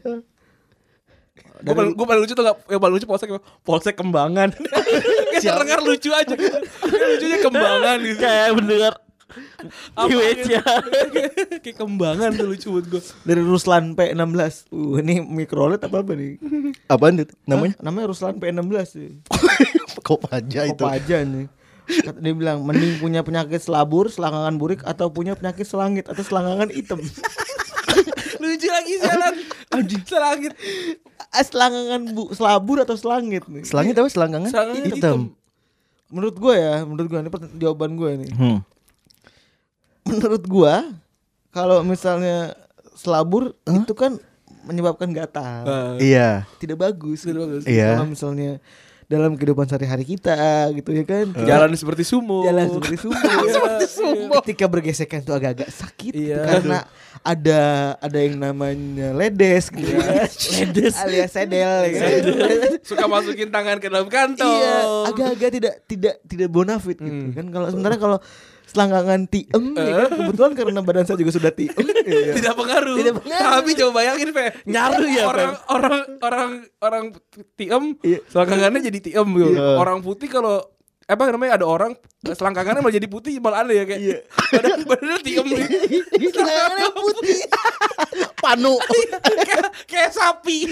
Gue paling, gua paling lucu tuh gak, yang paling lucu polsek polsek Kembangan. Kayak dengar lucu aja. Kayak lucunya Kembangan gitu. Kayak bener Apa Kiwet gitu? ya. Kayak Kembangan tuh lucu buat gue. Dari Ruslan P enam belas. Uh, ini microLED apa apa nih? Apaan tuh namanya? Hah? Namanya Ruslan P enam belas sih. Kok aja itu. Apa aja nih? Kata dia bilang mending punya penyakit selabur, selangkangan burik atau punya penyakit selangit atau selangkangan hitam. Lucu lagi jalan. Anjing selangit. Ah, selangkangan bu, selabur atau selangit nih. Selangit apa selangkangan? Selangkangan hitam. hitam. Menurut gue ya, menurut gue ini pert- jawaban gue nih. Hmm. Menurut gue kalau misalnya selabur itu kan menyebabkan gatal. Iya. Tidak bagus. Tidak bagus. Iya. Kalau misalnya dalam kehidupan sehari-hari kita gitu ya kan. Jalan seperti sumo. Jalan seperti sumo. Ketika bergesekan itu agak-agak sakit gitu, Iya. karena ada ada yang namanya ledes gitu ya. Ledes alias sedel ya kan. Suka masukin tangan ke dalam kantong. Iya, agak-agak tidak tidak tidak bonafit gitu kan. Kalau sementara kalau selangkangan tiem ya kan, kebetulan karena badan saya juga sudah tiem. Iya. Tidak pengaruh. Tidak pengaruh. Tapi coba bayangin, Fe. Nyaru ya, orang, Fe. orang orang orang tiem, Iya. selangkangannya jadi tiem gitu. Iya. Orang putih kalau apa namanya ada orang selangkangannya malah jadi putih malah aneh ya kayak. Iya. Badan badannya tiem nih. Selangkangannya putih. Panu. kayak, kayak sapi.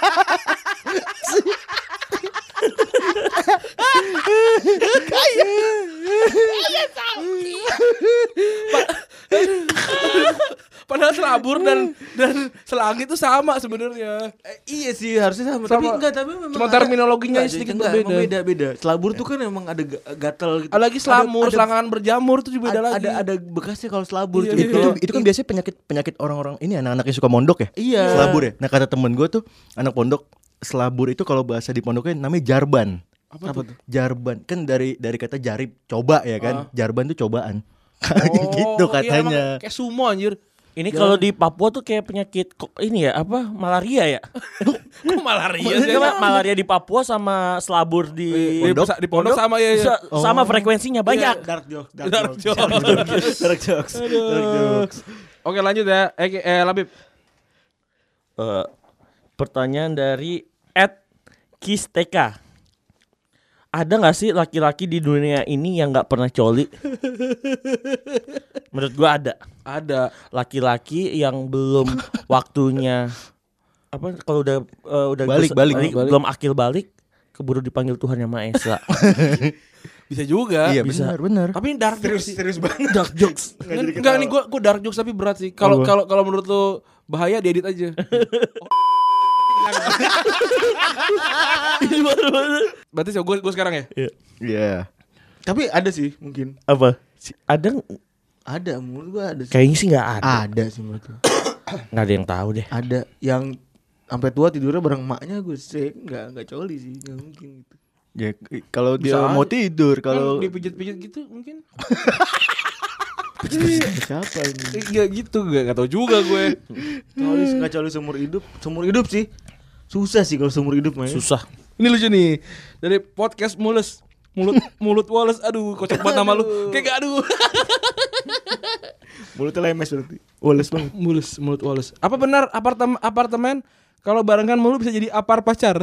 Padahal selabur dan dan selangit itu sama sebenarnya. Eh, iya sih harusnya sama, Sama. tapi enggak tapi memang Cuma ada- terminologinya enggak, sedikit enggak, berbeda. emang beda beda. Selabur tuh kan emang ada ga- gatal gitu. Ada lagi selamur, Ada- ada- selangkangan berjamur itu juga beda ada, lagi. ada ada bekasnya kalau selabur Iya, tuh. iya, itu, Kalau itu kan biasanya penyakit penyakit orang-orang ini anak-anak yang suka mondok ya. Iya. Selabur ya. Nah kata temen gue tuh anak pondok selabur itu kalau bahasa di pondoknya namanya jarban. Apa, tuh? Jarban kan dari dari kata jarib coba ya kan. Jarban tuh cobaan. Oh, gitu iya, katanya. emang kayak sumo anjir. Ini kalau di Papua tuh kayak penyakit kok ini ya apa malaria ya? Kok malaria sih? Iya, malaria di Papua sama selabur di Di pondok, di pondok sama ya. ya. Sa- sama frekuensinya banyak. dark joke, dark, Dark joke. jokes. Dark jokes. Dark jokes. Oke lanjut ya. Eh, eh Labib. Eh, pertanyaan dari Ed Kisteka. Ada nggak sih laki-laki di dunia ini yang nggak pernah coli? Menurut gua ada. Ada. Laki-laki yang belum waktunya apa kalau udah eh, udah Balik, bes- balik, balik. belum akil balik keburu dipanggil Tuhan Yang Maha Esa. Bisa juga. Iya bisa. benar benar. Tapi ini dark jokes sih. Serius banget. Dark jokes. Enggak nih gua gua dark jokes tapi berat sih. Kalau kalau kalau menurut lu bahaya diedit aja. Berarti sih gua gua sekarang ya. Iya. Tapi ada sih mungkin. Apa? Si- Ada nggak? Ada menurut gua ada sih. Kayaknya sih nggak ada. Ada sih menurut gua. Nggak ada yang tahu deh. Ada yang sampai tua tidurnya bareng emaknya gue sih nggak nggak coli sih nggak mungkin gitu. Ya k- kalau dia Bisa mau aja. tidur Kalau kalau dipijit-pijit gitu mungkin. Siapa ini? Iya gitu, gak, gak tau juga gue. Coli nggak coli seumur hidup, seumur hidup sih. Susah sih kalau seumur hidup mah. ya. Susah. Ini lucu nih. Dari podcast Mules. Mulut mulut Wallace. Aduh, kocak banget nama lu. Kayak gak aduh. Mulutnya lemes berarti. Woles banget. Mulus, mulut Wallace. Apa benar apartemen apartemen kalau barengan mulu bisa jadi apar pacar?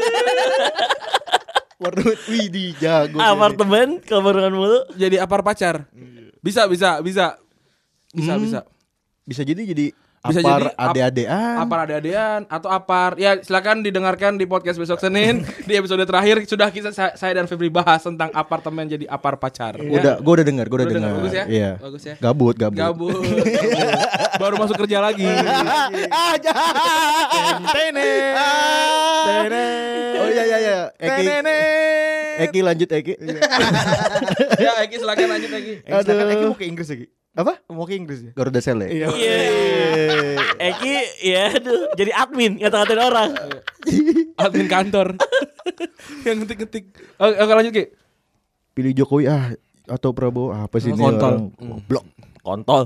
Warnet widih jago. Apartemen kalau barengan mulu. Jadi apar pacar. Bisa, bisa, bisa. Bisa, Hmm. bisa. Bisa jadi jadi Bisa apar jadi ap- ade-adean. Apar ade-adean atau apar. Ya, silakan didengarkan di podcast besok Senin. Di episode terakhir sudah kita saya dan Febri bahas tentang apartemen jadi apar pacar. Ya. Udah, gua udah dengar, gua udah Udah dengar, dengar. bagus ya? Iya. Bagus ya? Gabut, gabut. Gabut. Baru masuk kerja lagi. Ah, jahat. Tene. Oh iya iya iya. Eki. Eki lanjut Eki. Ya, Eki silakan lanjut Eki. Eh, silakan Aduh. Eki mau ke Inggris lagi. Apa? Mau ke Inggris ya? Garuda Sel ya? Iya. Iya. Eki ya aduh jadi admin ngata-ngatain orang. Admin kantor. Yang ngetik-ngetik. Oke, oke, lanjut Ki. Pilih Jokowi ah atau Prabowo apa sih ini Kontol. orang? Goblok. Kontol.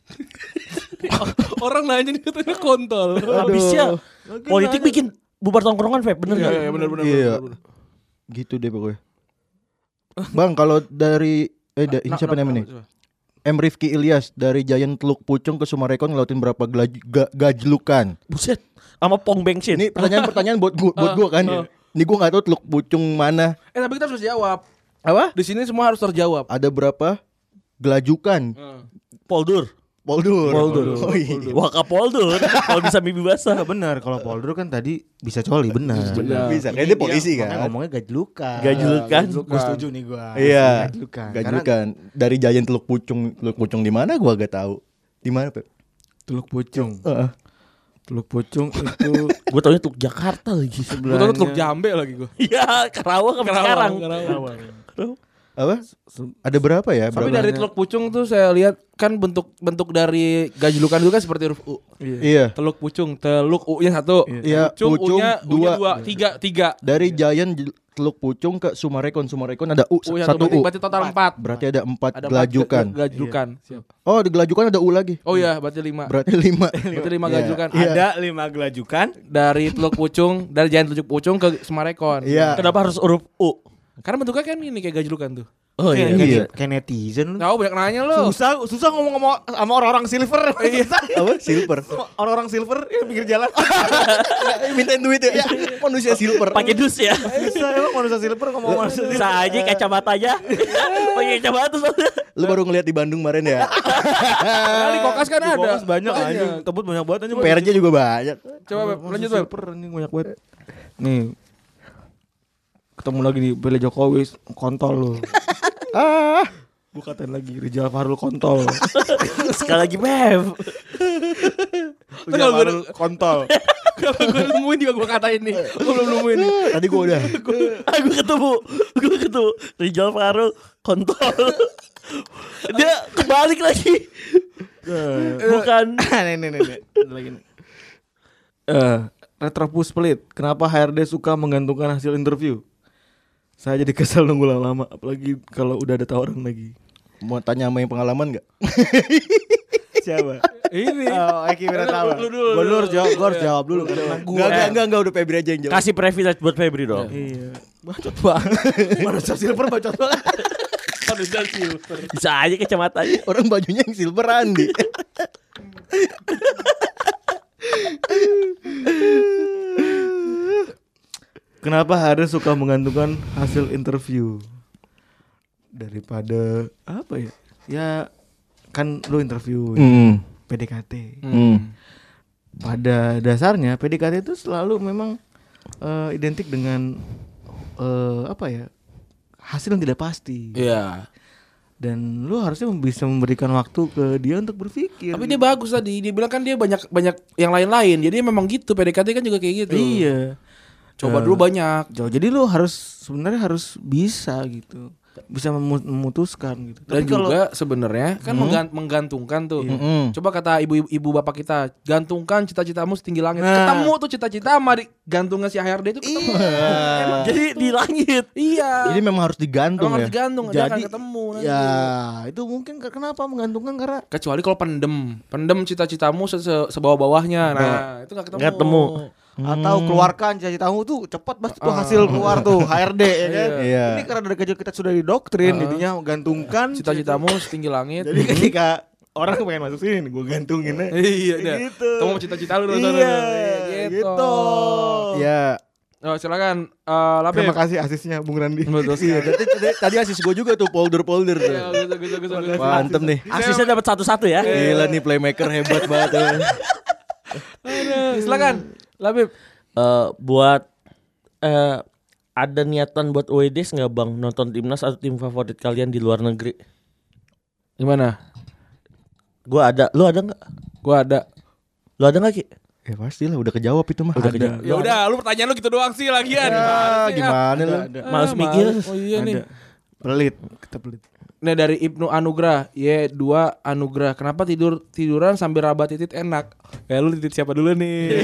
Orang nanya nih katanya kontol. Habisnya politik bikin bubar tongkrongan, Feb, bener Iya, gak? iya, benar benar. Iya. benar. Gitu deh pokoknya. Bang, kalau dari eh da, ini Nah, siapa nah, namanya nih? coba. M Rifki Ilyas dari Giant Teluk Pucung ke Sumarekon ngelautin berapa gelaj- ga- gajlukan? Buset. Sama Pong Bensin. Ini pertanyaan-pertanyaan buat gua, buat gua kan. Ini gua enggak tahu Teluk Pucung mana. Eh, tapi kita harus jawab. Apa? Di sini semua harus terjawab. Ada berapa gelajukan? Poldur. Poldur. Poldur. Oh, iya. Waka Poldur. Kalau bisa mimpi basah. Nah, benar kalau Poldur kan tadi bisa coli benar. Benar. Bisa. Kayak dia polisi Makanya kan. ngomongnya gajlukan. Gajlukan. Gue setuju nih gua. Iya. Gajlukan. Karena Gajlukan. Dari Giant Teluk Pucung. Teluk Pucung di mana gua gak tahu. Di mana, Pep? Teluk Pucung. Heeh. Teluk Pucung itu Gue taunya Teluk Jakarta lagi. Gue tau Teluk Jambe lagi gue. Iya, Karawang sampai sekarang. Karawang. Apa? Ada berapa ya? Tapi Berapa? dari Teluk Pucung tuh saya lihat kan bentuk bentuk dari gajlukan itu kan seperti huruf U. Iya. Teluk Pucung, Teluk U-nya satu. Iya, Pucung, Pucung, U-nya, U-nya dua. dua, tiga, tiga. Dari Giant J- Teluk Pucung ke Sumarekon. Sumarekon ada U, U-nya satu berarti, U. berarti total empat. Berarti ada empat Ada empat gelajukan. ge- gajlukan. Oh, di gelajukan ada U lagi. Oh iya, berarti lima. Berarti lima. Berarti lima Iya. gajlukan. Iya. ada lima gelajukan. Dari Teluk Pucung, dari Giant Teluk Pucung ke Sumarekon. Iya. Kenapa harus huruf U? Karena bentuknya kan ini kayak gajlukan tuh. Oh iya. Kayak- Iya. Kayak netizen lu. Tahu banyak nanya lo. Susah susah ngomong sama, sama orang-orang silver. Susah. Apa? Silver. Orang-orang silver yang pinggir jalan. Mintain duit ya. Manusia silver. Pakai dus ya. Susah emang manusia silver ngomong manusia silver. Bisa aja kacamatanya. Pakai kacamata soalnya. Lu baru ngeliat di Bandung kemarin ya. Nah, di Kokas kan ada. Kokas banyak anjing. Tebut banyak banget anjing. P R-nya juga banyak. Coba Beb, Manusia lanjut Beb. silver anjing banyak banget. Nih. Ketemu lagi nih Bele Jokowi kontol lu. Ah. Gue katain lagi Rizal Fahrul kontol. Sekali lagi, Bev. Rizal Fahrul kontol. Kalau gue nemuin juga gue katain nih. Gue belum nemuin nih. Tadi gua udah. Aku ketemu, gue ketemu Rizal Fahrul kontol. Dia kebalik lagi. Bukan. Nih nih nih. nih. Ada lagi nih. Eh, Retropus pelit. Kenapa H R D suka menggantungkan hasil interview? Saya jadi kesel nunggu lama-lama, apalagi kalau udah ada tawaran lagi. Mau tanya sama yang pengalaman gak? Siapa? Ini. Oh, Eki udah tahu. Lu dulu, Gua lu dulu harus dulu. jawab, gua harus jawab dulu karena Enggak, gua. enggak, enggak, enggak, udah Febri aja yang jawab. Kasih privilege buat Febri dong. Iya. Bacot banget. Manusia silver bacot banget. Manusia silver. Bisa aja kacamatanya. Orang bajunya yang silver Andi. Kenapa harus suka menggantungkan hasil interview daripada apa ya? Ya kan lu interview Hmm. P D K T. Hmm. Pada dasarnya P D K T itu selalu memang eh, identik dengan eh, apa ya? Hasil yang tidak pasti. Iya. Dan lu harusnya bisa memberikan waktu ke dia untuk berpikir. Tapi dia bagus tadi. Dia bilang kan dia banyak banyak yang lain-lain. Jadi memang gitu. P D K T kan juga kayak gitu. Iya. Coba Eh, dulu banyak. Jauh. Jadi lu harus sebenarnya harus bisa gitu. bisa memu- memutuskan gitu. Dan Tapi kalau juga sebenarnya kan menggan- menggantungkan tuh. Mm-mm. Coba kata ibu ibu bapak kita, gantungkan cita-citamu setinggi langit. Nah. Ketemu tuh cita-cita sama di gantungnya si H R D itu ketemu. Emang Jadi di langit. iya. Jadi memang harus digantung Emang ya. harus digantung, dia akan Jadi ketemu nanti. ya itu mungkin ke- kenapa menggantungkan karena Kecuali kalau pendem, pendem cita-citamu se- se- sebawah-bawahnya. Nah, itu nggak ketemu. Nggak ketemu. atau keluarkan cita-citamu tuh cepat pasti tuh hasil keluar tuh H R D ya kan. Iya. Ini karena dari kecil kita sudah didoktrin jadinya menggantungkan Cita-citamu setinggi langit. Jadi ketika orang pengen masuk sini gue gantungin aja. Iya, dah. Gitu. Kamu mau cita-cita lu Iya, gitu. gitu. Ya, Oh, silakan uh, Labib. Terima kasih asisnya Bung Randi. Betul iya. sekali. Tadi, tadi, tadi asis gue juga tuh polder-polder tuh. Iya, gitu, gitu, gitu, gitu. Mantep nih. Asisnya dapat satu-satu ya. Gila nih playmaker hebat banget tuh. Aduh, silakan Labib. Eh, buat eh, ada niatan buat W D S nggak bang nonton timnas atau tim favorit kalian di luar negeri? Gimana? Gua ada, lu ada nggak? Gua ada. Lu ada nggak Ki? Ya pastilah udah kejawab itu mah. Udah kejawab. Ya udah, lu pertanyaan lu gitu doang sih lagian. Ah, gimana lu? Males Ah, mikir. males. Oh iya nih. Pelit, kita pelit. Nah dari Ibnu Anugrah, Y dua Anugrah. Kenapa tidur tiduran sambil raba titit enak? Ya lu titit siapa dulu nih?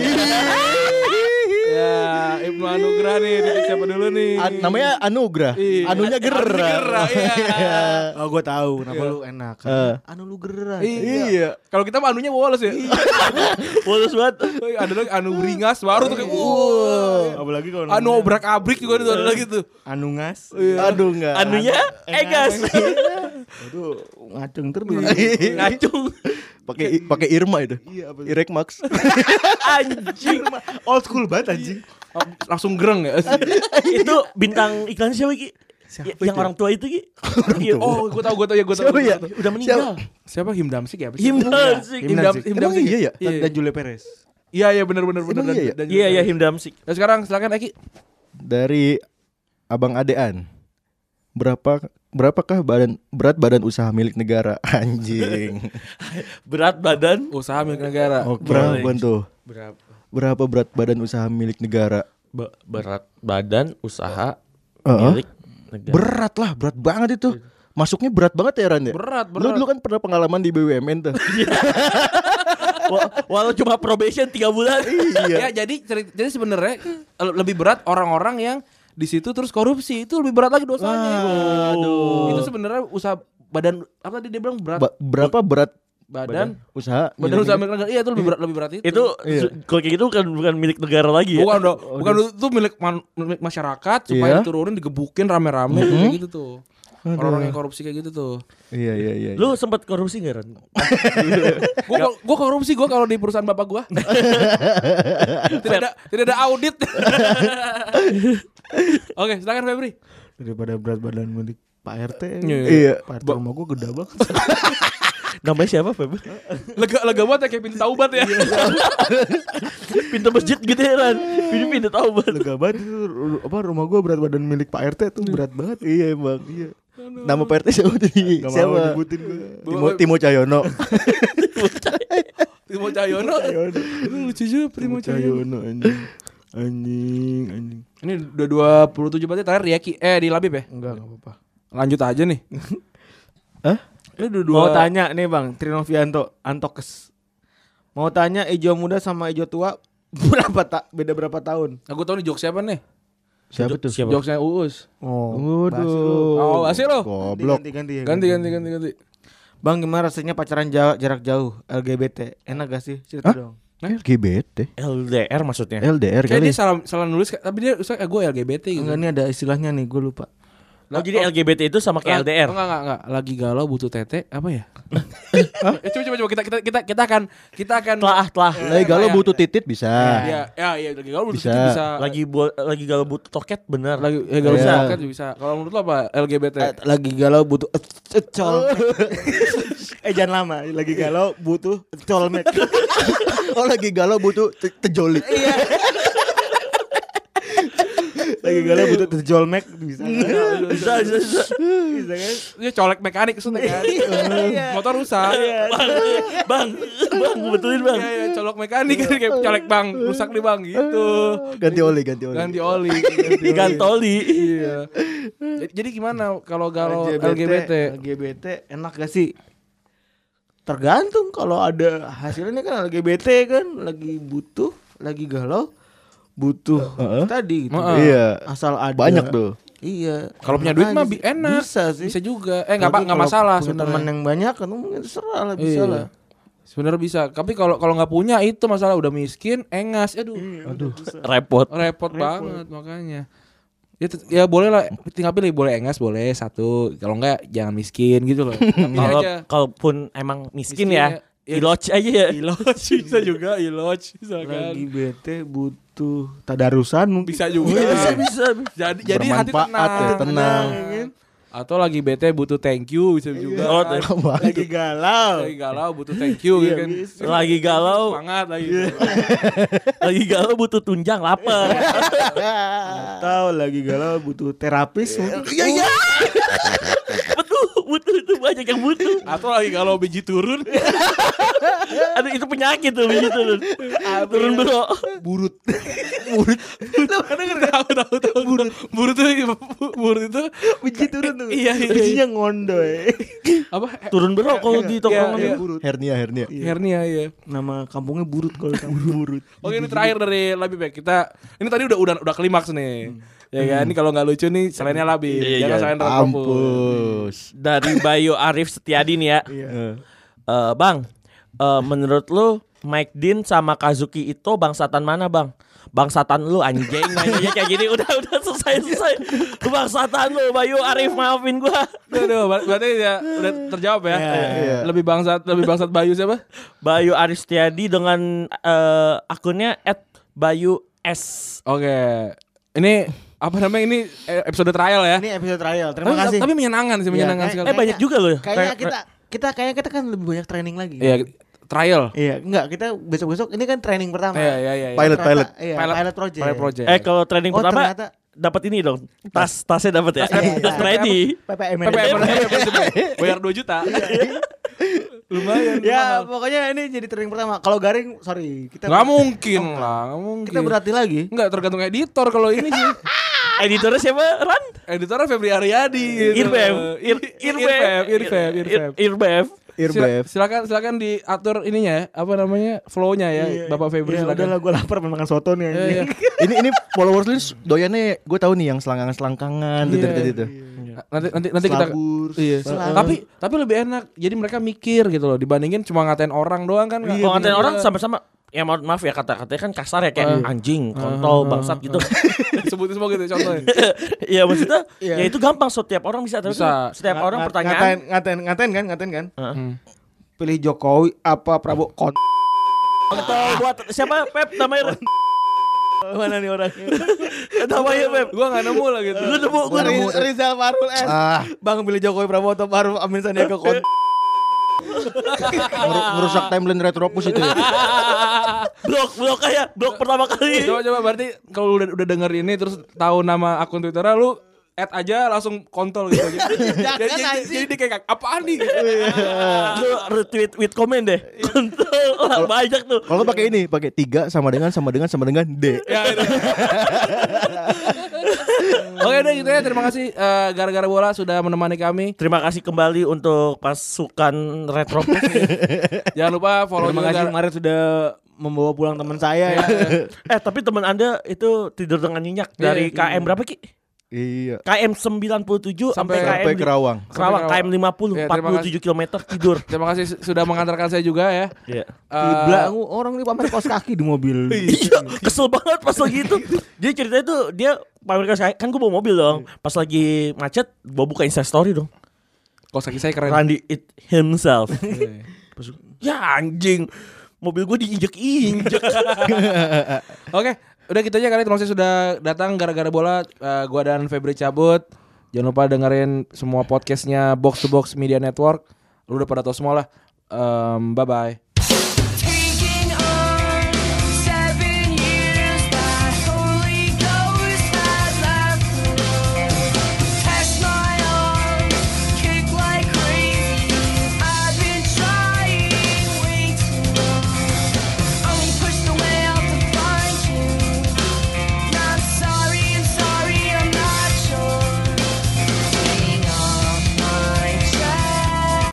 Ya Ibnu Anugrah nih, titit siapa dulu nih? An- namanya Anugrah. Iya. Anunya gerah. Gerah, iya. Oh gue tahu kenapa lu enak. Eh. Anu lu gerah. Iya. Kalau kita mah anunya Wallace ya. Bolos banget. Oh, iya, ada lagi anu beringas baru tuh kayak wah. Apalagi kalau Anu obrak-abrik juga itu ada lagi tuh. Anu ngas. Aduh enggak. Anunya Egas. Aduh ngacung terus. Ngacung. Pakai pakai Irma itu. Iya, apa- Irek Max. Anjing. Old school banget anjing. Oh, langsung gereng ya. Itu bintang iklan siapa Ki? Ya, yang orang tua itu Ki. Iya. Oh, gua tahu, gua tahu ya, gua tahu. Siapa gua ya? tahu. Udah meninggal. Siapa Him Damsik ya? Apa sih? Him Damsik. Him Damsik. Him Emang Damsik. iya ya? Iya, Dan Julia Perez. iya, iya benar benar benar. Emang iya ya? Iya iya Him Damsik. Nah, sekarang silakan Eki. Dari Abang Adean. Berapa berapakah badan berat badan usaha milik negara? Anjing. Berat badan. Usaha milik negara. Berapa tuh? Berapa? Berapa berat badan usaha milik negara? Be- berat badan usaha Heeh. milik negara. Berat lah, berat banget itu. Masuknya berat banget ya Ran ya? Berat, Lu berat. dulu kan pernah pengalaman di B U M N tuh. Wa- Walau cuma probation tiga bulan. Ya, jadi ceri- jadi sebenarnya eh, lebih berat orang-orang yang di situ terus korupsi itu lebih berat lagi dosanya. Aduh. Itu sebenarnya usaha badan apa tadi dia bilang berat Ba- berapa berat badan usaha badan milik usaha negara? milik negara. Iya itu lebih berat lebih berat itu. Itu Iya. su- kalau kayak gitu bukan bukan milik negara lagi ya. bukan dong, bukan itu milik man- milik masyarakat supaya Iya. diturunin digebukin rame-rame kayak gitu tuh. Orang-orang yang korupsi kayak gitu tuh. Iya iya iya. Lu sempat korupsi enggak Ran? Gua gua korupsi gua kalau di perusahaan bapak gua. tidak ada tidak ada audit. Oke, silakan Febri. Daripada berat badan milik Pak R T. Iya. Pak R T rumah gue gede banget. Namanya siapa Feb? Lega lega banget ya kayak pintu taubat ya. Pintu masjid gitu ya Ran. Ini pintu taubat. Lega banget itu ru- apa rumah gue berat badan milik Pak R T tuh berat banget. Iya emang. Iya. Nama P R T siapa tuh? Gak mau Siapa? nyebutin gue. Timo, Timo Cahyono. Timo Cahyono. Itu lucu juga Timo Cahyono. Cahyono anjing. Anjing, anjing. Ini udah dua puluh tujuh berarti terakhir Riaki. Eh di Labib ya? Enggak, enggak apa-apa. Lanjut aja nih. Hah? Ini udah dua. Mau tanya nih Bang, Trinovianto, Antokes. Mau tanya Ijo muda sama Ijo tua berapa tak beda berapa tahun? Aku tahu nih jokes siapa nih? Siapa tuh? Siapa? Jokesnya Uus. Oh, Waduh. Oh, asih lo. Goblok. Ganti, ganti, Ganti ganti ganti ganti. Bang, gimana rasanya pacaran ja- jarak jauh L G B T? Enak gak sih? Cerita Hah? dong. L G B T. L D R maksudnya. L D R Kayak kali. dia salah salah nulis tapi dia usah eh, gue L G B T gitu. Enggak, ini ada istilahnya nih, gue lupa. Oh jadi L G B T itu sama kayak L D R. Enggak enggak enggak. Lagi galau butuh tete apa ya? Eh, coba coba coba kita kita kita kita akan kita akan Telah telah. Lagi galau butuh titit bisa. Ya, ya, ya lagi galau butuh Bisa. tete bisa. Lagi buat lagi galau butuh toket bener. lagi eh galau Iya. bisa kan bisa. Kalau menurut lo apa L G B T? Eh, lagi galau butuh eh, col. eh jangan lama, lagi galau butuh colmek. Oh lagi galau butuh te- tejolik. Lagi galau butuh terjual Mac bisa. Bisa, bisa, bisa. Bisa kan? Dia colek mekanik maksudnya kan. Motor rusak. Bang, bang, betulin bang. Iya, iya, colok mekanik kan kayak colek bang, rusak nih bang gitu. Ganti oli, ganti oli. Ganti oli, ganti oli. Gantoli. Iya. Jadi- Jadi gimana kalau galau L G B T? L G B T enak gak sih? Tergantung, kalau ada hasilnya kan L G B T kan lagi butuh, lagi galau, butuh Heeh. tadi gitu. Heeh. Iya. Asal ada. Banyak tuh. Iya. Kalau punya Enak duit mah aja bi- sih. enak. Bisa sih. Bisa juga. Eh nggak apa Tapi nggak kalau masalah punya teman sebenarnya. yang banyak kan mungkin terserah lah, bisa Iya. lah. Sebenarnya bisa. Tapi kalau kalau nggak punya itu masalah, udah miskin, engas. Aduh. Aduh. Repot. Repot banget makanya. Ya, tet- ya boleh lah, tinggal pilih, boleh engas boleh satu, kalau enggak jangan miskin gitu loh. Pilih Kalau aja. kalaupun emang miskin, Miskin ya, ya. Ya. iloj aja ya. Iloj bisa juga, iloj bisa kan. Lagi bete butuh tadarusan mungkin. Bisa juga. Bisa, bisa. Jadi jadi hati Bermanfaat tenang. ya, tenang. kan? Atau lagi bete butuh thank you bisa juga. Oh, kan. Lagi galau. Lagi galau butuh thank you gitu kan. Lagi galau, Semangat lagi. lagi galau butuh tunjang lapar. Atau lagi galau butuh terapis mungkin. Iya, iya. Betul, butuh itu banyak yang butuh. Atau lagi galau biji turun. Aduh, itu penyakit tuh biji turun. Turun bro. Burut. Burut. Tahu tahu tahu. Burut. Burut itu burut itu Biji turun tuh. Iya, iya, iya. Bijinya ngondoy. apa? Turun bro kalau di tongkrongan. iya. Burut. Hernia, hernia. Hernia ya. Nama kampungnya Burut kalau kamu Burut. Oke, ini terakhir dari Labib ya. Kita ini tadi udah udah udah klimaks nih. Ya kan, ini kalau nggak lucu nih selainnya Labib. Iya, Jangan iya. selain Retropus. Ampus. Dari Bayu Arif Setiadi nih ya. Eh. Eh, bang, eh, menurut lu Mike Dean sama Kazuki Ito bangsatan mana bang? Bangsatan lu anjing nanya kayak gini. Udah udah selesai selesai. Lu bangsatan lu Bayu Arif, maafin gua. Aduh, ber- berarti ya udah terjawab ya. iya. Lebih bangsat lebih bangsat Bayu siapa? Bayu Arif Setiadi dengan eh, akunnya at Bayu S. Oke. Ini apa namanya, ini eh, episode trial ya. Ini episode trial. Terima Tapi, kasih. tapi menyenangkan sih, Iya, menyenangkan kayak- sekali. Eh banyak juga loh. Kayaknya Tra- kita kita kayaknya kita kan lebih banyak training lagi. Iya, trial. Iya, enggak, kita besok-besok ini kan training pertama. Iya, iya, iya. Pilot, Ternyata- pilot. Iya, Pilot- pilot, project. Pilot project. Eh kalau training Oh, pertama ternyata- dapat ini dong. Tas tasnya dapat ya. Iya, iya. Tas ready. P P M. P P M bayar dua juta. Lumayan. Ya, pokoknya ini jadi training pertama. Kalau garing, sorry, kita Nggak mungkin lah, nggak mungkin. kita berarti lagi. Nggak, tergantung editor kalau ini sih. Editornya siapa? Ran? Editornya Febri Aryadi gitu. Irbev. Ir Irbev, Irbev, Irbev. Irbev. Irbev. Sila- Silakan silakan diatur ininya ya, apa namanya? Flow-nya ya, Bapak Febri Ya silakan. udahlah, gue lapar makan soto nih. Iya, anjing. iya. ini ini followers lu doyannya gue tahu nih yang selangkangan-selangkangan Iya. tadi itu. Nanti nanti nanti kita Selabur, iya. selabur. Tapi tapi lebih enak. Jadi mereka mikir gitu loh, dibandingin cuma ngatain orang doang kan. nggak- Kalau ngatain Iya. orang sama-sama, ya mohon maaf ya kata-katanya kan kasar ya, kayak Ah. anjing, kontol, bangsat gitu. Sebutin semua gitu contohnya. Iya maksudnya Iya. ya itu gampang, setiap orang bisa. Tapi Bisa. setiap Nga- orang nga- pertanyaan. ngatain, ngatain, ngatain kan, ngatain kan. Hmm. Pilih Jokowi apa Prabowo? Kon. Kontol buat siapa Pep namanya? Mana nih orangnya? Namanya Pep. Gua enggak nemu lah gitu. Lu nemu Gua nemu. Riz- Rizal Farul S. Ah, Bang, pilih Jokowi Prabowo atau Farul Amin Sandiaga Kon. ngeru- ngerusak timeline Retropus itu ya. Blok blok kayak blok pertama kali. Coba coba berarti kalau udah udah denger ini terus tahu nama akun Twitternya, lu add aja langsung kontol gitu aja. jadi, jadi, jadi dia kayak apaan nih? Gitu. Lu retweet with comment deh. Kontol. Wah, banyak tuh. Kalau pakai ini, pakai tiga sama dengan sama dengan sama dengan D. Ya, itu. Oke deh gitu ya, terima kasih eh, gara-gara bola sudah menemani kami. Terima kasih kembali untuk pasukan Retropus. Jangan lupa follow Terima juga kasih Gar- kemarin sudah membawa pulang teman saya ya. Eh tapi teman Anda itu tidur dengan nyenyak dari Iya, K M berapa Ki? Iya. K M sembilan puluh tujuh sampai, Sampai- Sampai K M Kerawang. Kerawang, Sampai K M lima puluh, Iya, empat terima puluh kasih. tujuh kilometer tidur. Terima kasih su- sudah mengantarkan saya juga ya. Iya. Eh, Kibla, orang ini pamer kaos kaki di mobil. Iya, kesel banget pas lagi itu. Jadi ceritanya tuh dia pamer kaos kaki, kan gue bawa mobil dong. Pas lagi macet, gue buka Insta story dong. Kos kaki saya keren. Randy it himself. Iya. Pas gua, ya anjing, mobil gue diinjek-injek. Oke, udah gitu aja kali. Terima kasih sudah datang gara-gara bola. Eh, gua dan Febri cabut. Jangan lupa dengerin semua podcastnya Box to Box Media Network. Lu udah pada tahu semua lah. Em, bye bye.